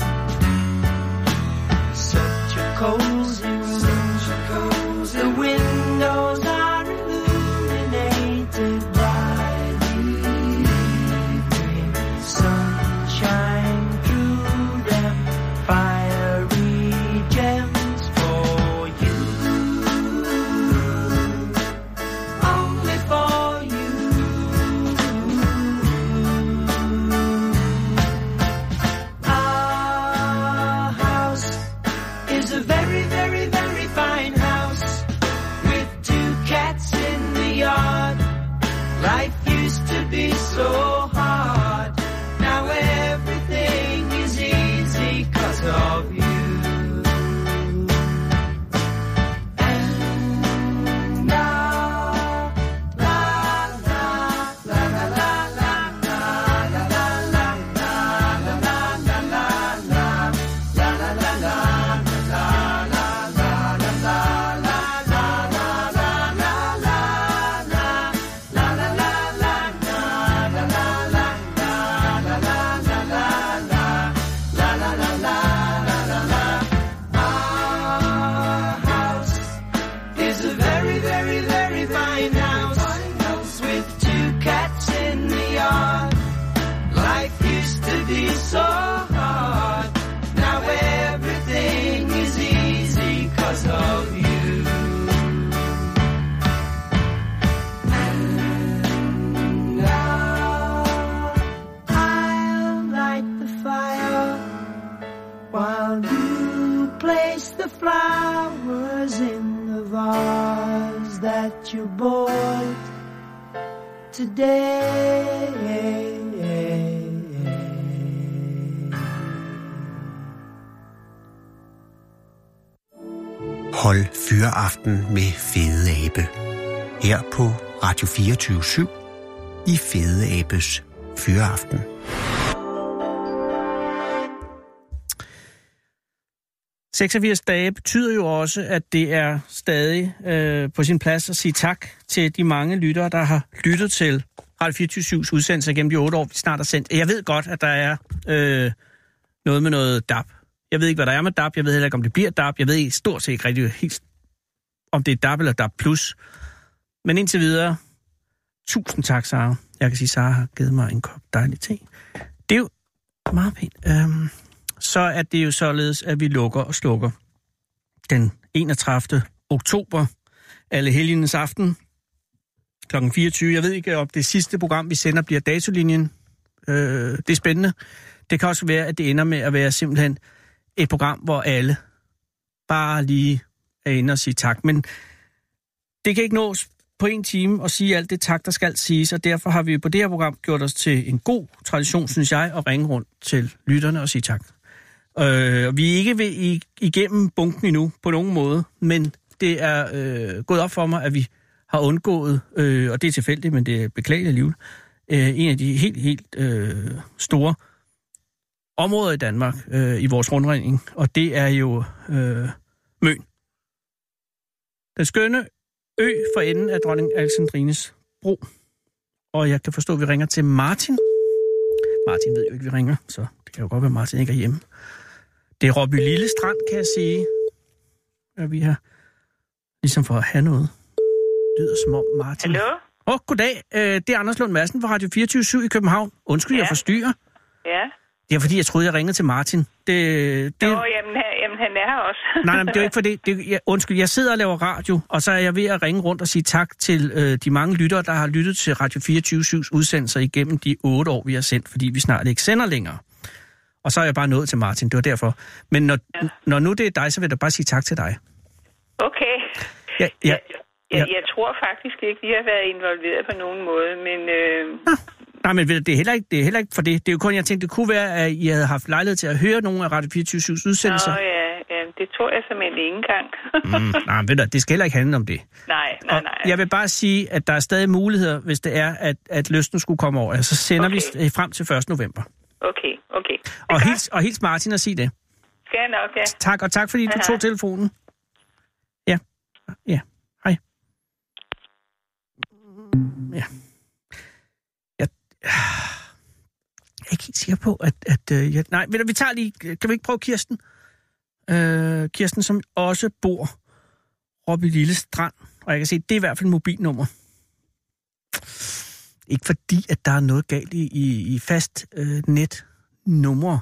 Such a cozy room. The windows are illuminated by the evening sunshine through them. Fiery gems for you. Only for you. Our house is a very, very, very fine house with 2 cats in the yard. Life used to be so hard. Now everything is easy 'cause of you. And now, la la la la la la la la la la la la la la Our house is a very, very, very fine house with 2 cats in the yard. Life used to be so hard. Now everything is easy 'cause of you. And now I'll light the fire while you place the flowers in the vase that you bought today. Hold fyreaften med Fede Abe. Her på Radio 24/7 i Fede Abes Fyreaften. – 86 dage betyder jo også, at det er stadig på sin plads at sige tak til de mange lyttere, der har lyttet til Radio 24/7's udsendelser gennem de 8 år, vi snart har sendt. Jeg ved godt, at der er noget med noget DAB. Jeg ved ikke, hvad der er med DAB. Jeg ved heller ikke, om det bliver DAB. Jeg ved stort set ikke rigtig helt, om det er DAB eller DAB+. Men indtil videre, tusind tak, Sara. Jeg kan sige, Sara har givet mig en kop dejlig te. Det er jo meget pænt. så er det jo således, at vi lukker og slukker den 31. oktober, Allehelgens aften, kl. 24. Jeg ved ikke, om det sidste program, vi sender, bliver Datolinjen. Det er spændende. Det kan også være, at det ender med at være simpelthen et program, hvor alle bare lige er inde og sige tak. Men det kan ikke nås på en time at sige alt det tak, der skal siges, og derfor har vi på det her program gjort os til en god tradition, synes jeg, at ringe rundt til lytterne og sige tak. Vi er ikke ved igennem bunken endnu på nogen måde, men det er gået op for mig, at vi har undgået, og det er tilfældigt, men det er beklageligt alligevel, en af de helt store områder i Danmark i vores rundringning, og det er jo Møn. Den skønne ø for enden af dronning Alexandrines Bro. Og jeg kan forstå, at vi ringer til Martin. Martin ved jo ikke, at vi ringer, så det kan jo godt være, at Martin ikke er hjemme. Det er Råby Lille Strand, kan jeg sige. Og vi har ligesom for at have noget. Det lyder som om Martin... Hallo? Goddag. Det er Anders Lund Madsen fra Radio 24/7 i København. Undskyld, jeg forstyrrer. Ja. Det er fordi, jeg troede, jeg ringede til Martin. Jamen, han er her også. nej, det er jo ikke for det. Undskyld, jeg sidder og laver radio, og så er jeg ved at ringe rundt og sige tak til de mange lyttere, der har lyttet til Radio 24/7's udsendelser igennem de 8 år, vi har sendt, fordi vi snart ikke sender længere. Og så er jeg bare nået til Martin, det var derfor. Men når nu det er dig, så vil jeg bare sige tak til dig. Okay. Ja. Jeg tror faktisk ikke, vi har været involveret på nogen måde, men... Nej, men det er heller ikke for det. Det er jo kun, jeg tænkte, det kunne være, at I havde haft lejlighed til at høre nogle af Radio 24/7's udsendelser. Nå ja, det tror jeg simpelthen ikke engang. Nej, ved du, det skal heller ikke handle om det. Nej. Jeg vil bare sige, at der er stadig muligheder, hvis det er, at lysten skulle komme over. Så sender vi frem til 1. november. Okay. Og hils Martin og sig det. Skal jeg nok, ja. Tak, og tak fordi du tog telefonen. Ja. Hej. Ja. Jeg er ikke helt sikker på, nej, vi tager lige... Kan vi ikke prøve Kirsten? Kirsten, som også bor oppe i Lille Strand. Og jeg kan se, det er i hvert fald mobilnummer. Ikke fordi, at der er noget galt i fast netnumre.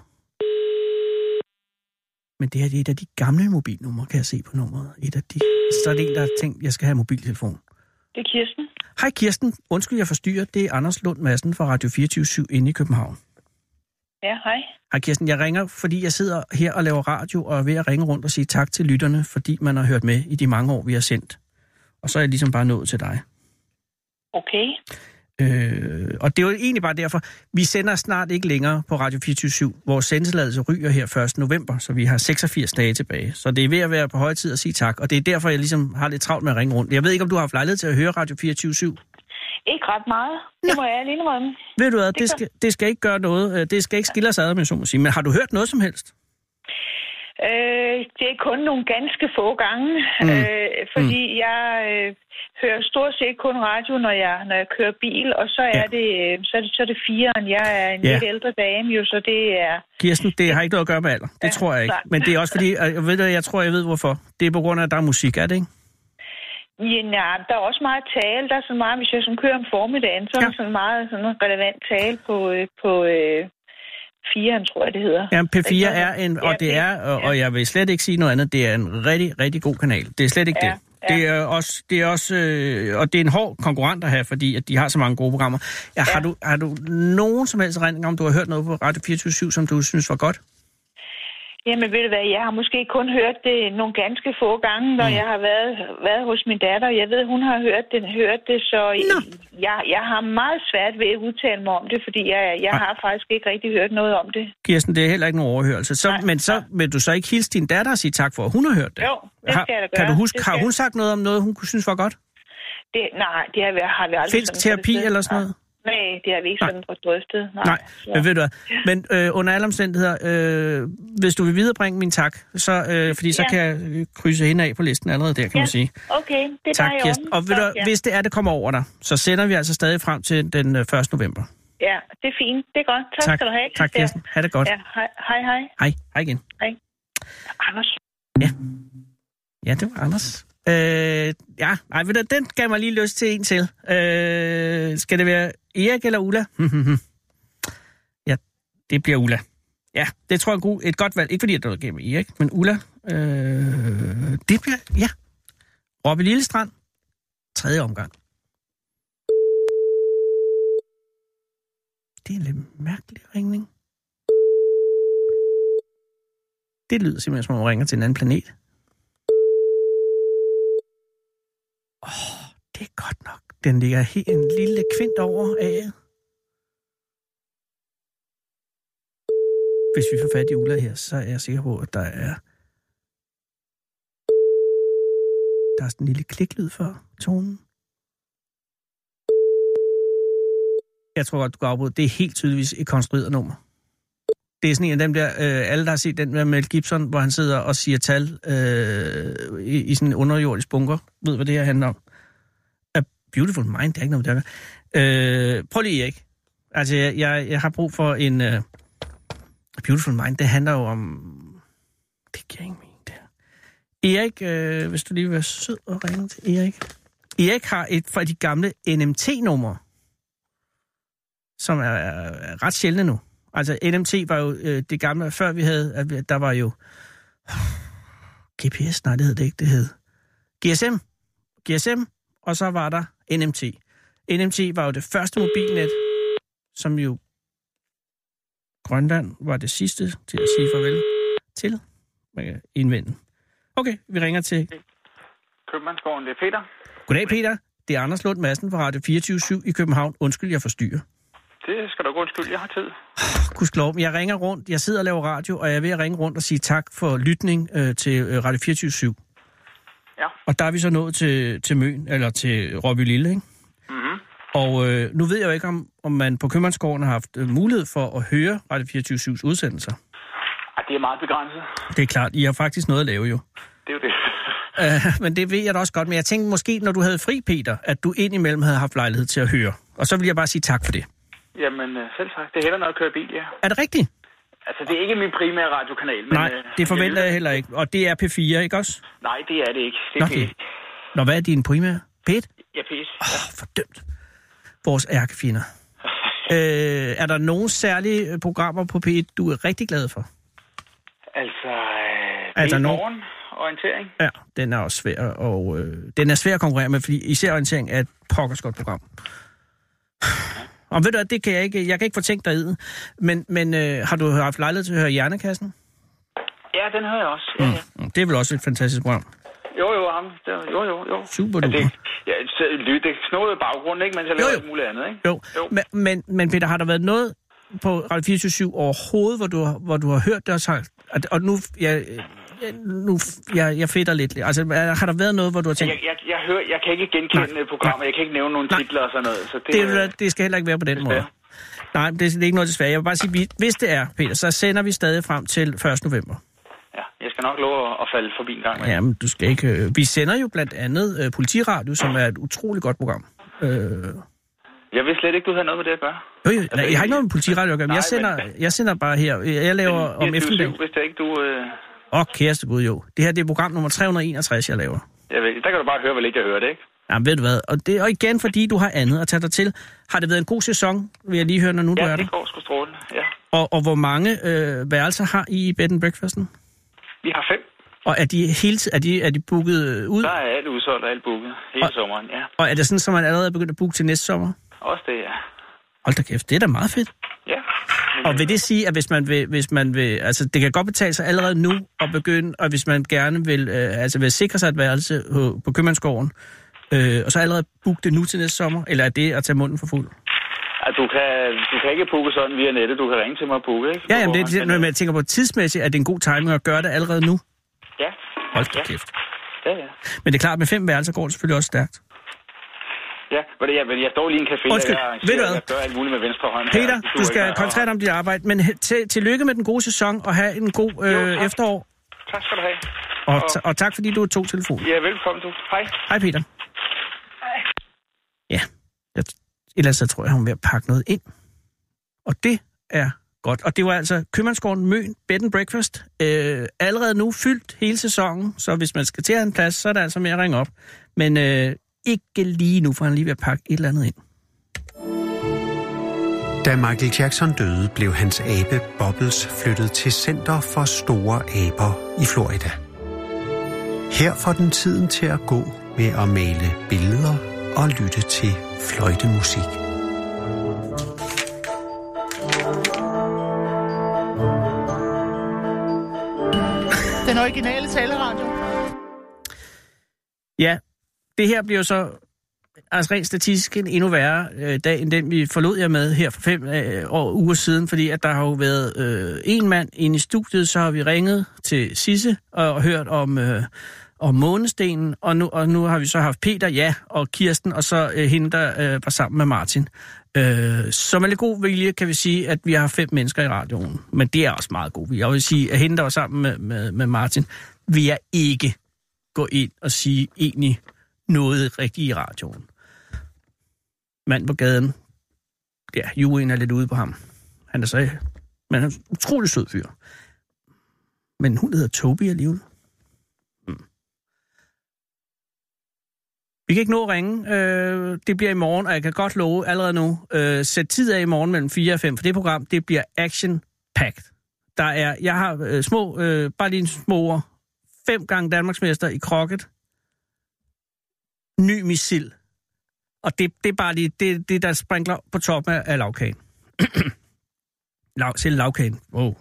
Men det her det er et af de gamle mobilnumre, kan jeg se på nummeret. Så er det en, der har tænkt, at jeg skal have mobiltelefon. Det er Kirsten. Hej Kirsten. Undskyld, jeg forstyrrer. Det er Anders Lund Madsen fra Radio 24/7 inde i København. Ja, hej. Hej Kirsten. Jeg ringer, fordi jeg sidder her og laver radio og er ved at ringe rundt og sige tak til lytterne, fordi man har hørt med i de mange år, vi har sendt. Og så er jeg ligesom bare nået til dig. Okay. Og det er jo egentlig bare derfor, vi sender snart ikke længere på Radio 24/7. Vores sendetilladelse ryger her 1. november, så vi har 86 dage tilbage. Så det er ved at være på høje tid at sige tak, og det er derfor, jeg ligesom har lidt travlt med at ringe rundt. Jeg ved ikke, om du har haft lejlighed til at høre Radio 24/7? Ikke ret meget. Det må jeg alene rømme. Ved du hvad, det skal ikke gøre noget. Det skal ikke skille os ad, med så må sige. Men har du hørt noget som helst? Det er kun nogle ganske få gange, fordi jeg hører stort set kun radio, når jeg kører bil, og så er det 4'eren. Jeg er en lidt ældre dame, jo, så det er... Kirsten, det har ikke noget at gøre med alder. Det tror jeg ikke. Men det er også fordi, jeg ved hvorfor. Det er på grund af, at der er musik, er det ikke? Ja, der er også meget tale. Der er så meget, hvis jeg kører om formiddagen, så er der sådan meget relevant tale på 4'eren, tror jeg, det hedder. Ja, P4 er en, og det er, og jeg vil slet ikke sige noget andet, det er en rigtig, rigtig god kanal. Det er slet ikke det. Ja. Det er også, og det er en hård konkurrent at have, fordi at de har så mange gode programmer. Ja, har du nogen som helst erindring om, du har hørt noget på Radio 24/7, som du synes var godt? Jamen ved du hvad, jeg har måske kun hørt det nogle ganske få gange, når jeg har været hos min datter. Jeg ved, hun har hørt det, så jeg har meget svært ved at udtale mig om det, fordi jeg har faktisk ikke rigtig hørt noget om det. Kirsten, det er heller ikke nogen overhørelse. Så vil du så ikke hilse din datter og sige tak for, at hun har hørt det? Jo, det skal jeg da gøre. Kan du huske, har hun sagt noget om noget, hun kunne synes var godt? Det har vi aldrig... Finsk terapi eller sådan noget? Nej, det har vi ikke sådan drøftet. Nej, men ved du hvad. Men under alle omstændigheder, hvis du vil viderebringe min tak, så, fordi så kan jeg krydse hende af på listen allerede der, kan man sige. Okay, det er tak, dig Kirsten. Og ved du, hvis det kommer over dig, så sender vi altså stadig frem til den 1. november. Ja, det er fint. Det er godt. Tak skal du have. Tak, Kirsten. Ha' det godt. Ja, hej. Hej igen. Hej. Anders. Ja, det var Anders. Ved du, den gav mig lige lyst til en til. Skal det være Erik eller Ulla? Ja, det bliver Ulla. Ja, det tror jeg er et godt valg. Ikke fordi, at det er gennem Erik, men Ulla. Det bliver, ja. Robby Lillestrand. 3. omgang. Det er en lidt mærkelig ringning. Det lyder simpelthen, som om man ringer til en anden planet. Det er godt nok. Den ligger helt en lille kvint over af. Hvis vi får fat i Ulla her, så er jeg sikker på, at der er sådan en lille kliklyd for tonen. Jeg tror godt, du kan afbryde. Det er helt tydeligvis et konstrueret nummer. Det er sådan en af dem der, alle der har set den med Mel Gibson, hvor han sidder og siger tal i sådan en underjordisk bunker. Ved, hvad det her handler om? A Beautiful Mind, det er ikke noget, der gør. Prøv lige, Erik. Altså, jeg har brug for en... A Beautiful Mind, det handler jo om... Det giver ingen mening, det her. Erik, hvis du lige vil være sød og ringe til Erik. Erik har et fra de gamle NMT-numre, som er ret sjældne nu. Altså, NMT var jo det gamle, før vi havde... Der var jo... GPS? Nej, det hed det ikke. Det hed GSM, og så var der NMT. NMT var jo det første mobilnet, som jo Grønland var det sidste til at sige farvel til. Man kan indvende. Okay, vi ringer til... Købmandsgården, det er Peter. Goddag, Peter. Det er Anders Lund Madsen fra Radio 24/7 i København. Undskyld, jeg forstyrrer. Det skal du gå undskyld, jeg har tid. Gudskelov, jeg ringer rundt. Jeg sidder og laver radio, og jeg er ved at ringe rundt og sige tak for lytning til Radio 24/7. Ja. Og der er vi så nået til Møn, eller til Robby Lille, ikke? Mhm. Og nu ved jeg jo ikke, om man på Købmandsgården har haft mulighed for at høre Radio 24/7's udsendelser. Ej, det er meget begrænset. Det er klart, I har faktisk noget at lave jo. Det er jo det. Men det ved jeg da også godt. Men jeg tænkte måske, når du havde fri, Peter, at du indimellem havde haft lejlighed til at høre. Og så vil jeg bare sige tak for det. Jamen, selv tak. Det er heller noget at køre bil, ja. Er det rigtigt? Altså, det er ikke min primære radiokanal. Men, nej, det forventer jeg heller ikke. Og det er P4, ikke også? Nej, det er det ikke. Det er P1. Nå, hvad er din primære? P1? Ja, P1. Fordømt. Vores ærkefjender. Er der nogle særlige programmer på P1, du er rigtig glad for? Altså morgen orientering. Ja, den er også svær, og den er svær at konkurrere med, fordi især orientering er et pokkers godt program. Og ved du, det kan jeg kan ikke få tænkt dig i. Men har du haft lejlighed til at høre Hjernekassen? Ja, den hører jeg også. Ja. Det er vel også et fantastisk program? Jo, ham. Jo. Super duper. Det snodede baggrund, ikke? Mens jeg laver alt muligt andet, ikke? Jo. Men Peter, har der været noget på Radio 24/7 overhovedet, hvor du har hørt det og sagt... Og nu jeg fedter lidt. Altså, har der været noget, hvor du har tænkt... Jeg kan ikke genkende programmet. Jeg kan ikke nævne nogle titler og sådan noget. Så det skal heller ikke være på den måde. Nej, det er ikke noget desværre. Jeg vil bare sige, hvis det er, Peter, så sender vi stadig frem til 1. november. Ja, jeg skal nok love at falde forbi en gang med. Jamen, du skal ikke... Vi sender jo blandt andet Politiradio, som er et utroligt godt program. Jeg vidste slet ikke, du havde noget med det at gøre. Nej, jeg har ikke noget med Politiradio at gøre, men jeg sender bare her. Jeg laver om eftermiddagen. Hvis det ikke du... Kæreste Gud, jo. Det her, det er program nummer 361, jeg laver. Jeg ved, der kan du bare høre, hvor lidt jeg hører det, ikke? Jamen, ved du hvad? Og igen, fordi du har andet at tage dig til. Har det været en god sæson, vil jeg lige høre, når nu du er der? Ja, det går sgu strålende, ja. Og hvor mange værelser har I i bed and breakfasten? Vi har 5. Og er de booket ud? Der er alt udsolgt og alt booket hele sommeren, ja. Og er det sådan, at man allerede er begyndt at booke til næste sommer? Også det, ja. Hold da kæft, det er da meget fedt. Ja. Og vil det sige, at hvis man vil, altså det kan godt betale sig allerede nu at begynde, og hvis man gerne vil sikre sig et værelse på Købmandsgården, og så allerede booke det nu til næste sommer, eller er det at tage munden for fuld? Altså, du kan ikke booke sådan via nettet, du kan ringe til mig og booke, ikke? Ja, men jeg tænker på tidsmæssigt, at det er en god timing at gøre det allerede nu. Ja. Hold da kæft. Ja. Men det er klart, med 5 værelser går det selvfølgelig også stærkt. Ja, men jeg står lige i en café, og jeg gør alt muligt med venstre hånd. Peter, du skal koncentrere dig om dit arbejde, men tillykke med den gode sæson, og have en god efterår. Tak skal du have. Og tak, fordi du tog telefonen. Ja, velkommen du. Hej. Hej, Peter. Hej. Ja, ellers så tror jeg, hun er ved at pakke noget ind. Og det er godt. Og det var altså Købmandsgården Møn Bed and Breakfast. Allerede nu fyldt hele sæsonen, så hvis man skal til at have en plads, så er der altså med at ringe op. Men ikke lige nu, for han lige ved at pakke et eller andet ind. Da Michael Jackson døde, blev hans abe Bobbles flyttet til Center for Store Aber i Florida. Her får den tiden til at gå med at male billeder og lytte til fløjtemusik. Den originale taleradio. Ja, det her bliver så altså rent statistisk en endnu værre dag, end den vi forlod jer med her for 5 uger siden, fordi at der har jo været en mand inde i studiet, så har vi ringet til Sisse og hørt om månestenen, og nu har vi så haft Peter, og Kirsten, og så hende, der var sammen med Martin. Så med lidt god vilje kan vi sige, at vi har 5 mennesker i radioen, men det er også meget god vilje. Jeg vil sige, at hende, der var sammen med Martin, vil jeg ikke gå ind og sige egentlig noget rigtigt i radioen. Mand på gaden, ja, juryen er lidt ude på ham. Han er så, men han er en utrolig sød fyr. Men hun hedder Toby alligevel. Vi kan ikke nå at ringe. Det bliver i morgen, og jeg kan godt love allerede nu, sæt tid af i morgen mellem 4 og 5, for det program, det bliver action-packed. Jeg har bare lige en små ord. 5 gange Danmarksmester i crocket. Ny missil. Og det er bare lige det, der sprinkler på toppen af lavkagen. Selv lavkagen. Wow.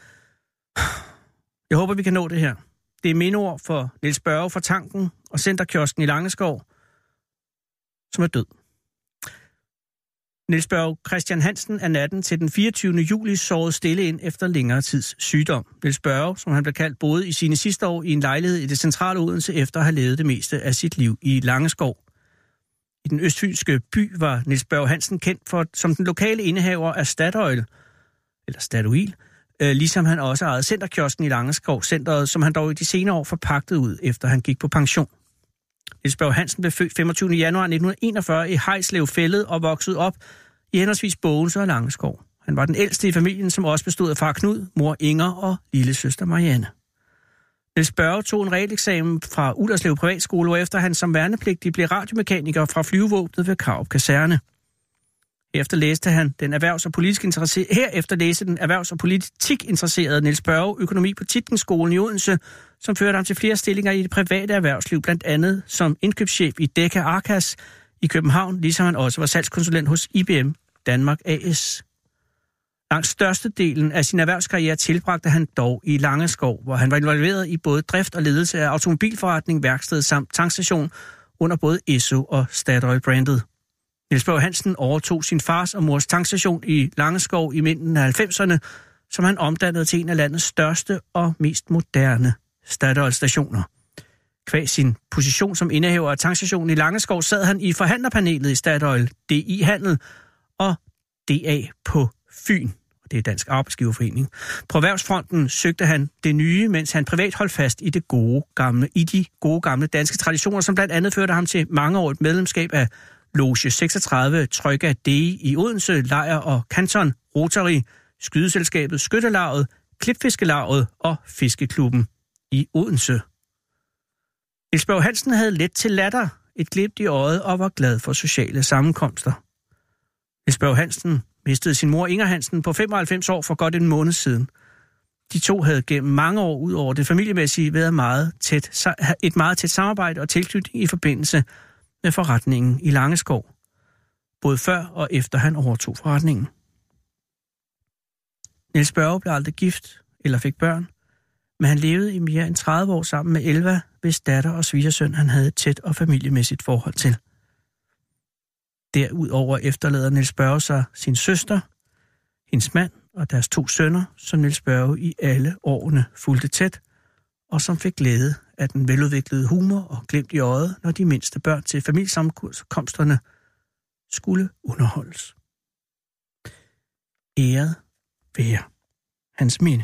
Jeg håber, vi kan nå det her. Det er mindeord for Niels Børge fra Tanken og Centerkiosken i Langeskov, som er død. Niels Børge Christian Hansen er natten til den 24. juli sovet stille ind efter længere tids sygdom. Niels Børge, som han blev kaldt, boede i sine sidste år i en lejlighed i det centrale Odense efter at have levet det meste af sit liv i Langeskov. I den østfynske by var Niels Børge Hansen kendt som den lokale indehaver af Statoil, ligesom han også ejede Centerkiosken i Langeskov, centret, som han dog i de senere år forpagtede ud, efter han gik på pension. Niels Børge Hansen blev født 25. januar 1941 i Hejslev Fælled og voksede op i henholdsvis Bogense og Langeskov. Han var den ældste i familien, som også bestod af far Knud, mor Inger og lille søster Marianne. Niels Børge tog en realeksamen fra Ullerslev Privatskole, hvorefter han som værnepligtig blev radiomekaniker fra flyvevåbnet ved Karup Kaserne. Herefter læste den erhvervs- og politik interesserede Niels Børge økonomi på Tietgenskolen i Odense, som førte ham til flere stillinger i det private erhvervsliv, blandt andet som indkøbschef i Deka Arkas i København, ligesom han også var salgskonsulent hos IBM Danmark AS. Langt størstedelen af sin erhvervskarriere tilbragte han dog i Langeskov, hvor han var involveret i både drift og ledelse af automobilforretning, værksted samt tankstation under både Esso og Statoil-brandet. Niels Børge Hansen overtog sin fars og mors tankstation i Langeskov i midten af 90'erne, som han omdannede til en af landets største og mest moderne Statoil-stationer. Kvæg sin position som indehaver af tankstationen i Langeskov sad han i forhandlerpanelet i Statoil, DI Handel og DA på Fyn. Det er Dansk Arbejdsgiverforening. På erhvervsfronten søgte han det nye, mens han privat holdt fast i de gode gamle danske traditioner, som blandt andet førte ham til mangeårigt medlemskab af Loge 36, Trøjga Dei i Odense, Lejr og Kanton, Rotary, Skydeselskabet, Skytterlaget, Klipfiskelaget og Fiskeklubben i Odense. Niels Børge Hansen havde let til latter, et glimt i øjet og var glad for sociale sammenkomster. Niels Børge Hansen mistede sin mor Inger Hansen på 95 år for godt en måned siden. De to havde gennem mange år ud over det familiemæssige været et meget tæt samarbejde og tilknytning i forbindelse med forretningen i Langeskov, både før og efter han overtog forretningen. Niels Børge blev aldrig gift eller fik børn, men han levede i mere end 30 år sammen med Elva, hvis datter og svigersøn han havde et tæt og familiemæssigt forhold til. Derudover efterlader Niels Børge sig sin søster, hendes mand og deres 2 sønner, som Niels Børge i alle årene fulgte tæt, og som fik glæde af den veludviklede humor og glimt i øjet, når de mindste børn til familiesammenkomsterne skulle underholdes. Æret være hans minde.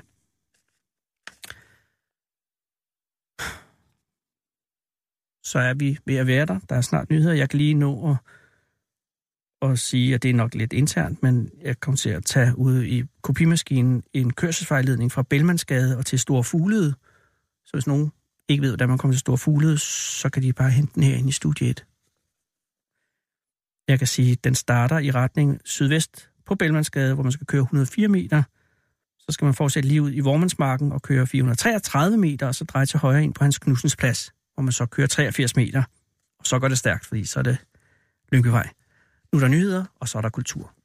Så er vi ved at være der. Der er snart nyheder. Jeg kan lige nå at sige, at det er nok lidt internt, men jeg kommer til at tage ude i kopimaskinen en kørselsvejledning fra Bellmansgade og til Store Fuglede. Så hvis nogen ikke ved, hvordan man kommer til Store Fuglede, så kan de bare hente den herinde i studie 1. Jeg kan sige, at den starter i retning sydvest på Bellmansgade, hvor man skal køre 104 meter. Så skal man fortsætte lige ud i Vormandsmarken og køre 433 meter, og så dreje til højre ind på Hans Knudsens Plads, hvor man så kører 83 meter. Og så går det stærkt, fordi så er det Lyngbyvej. Nu er der nyheder, og så er der kultur.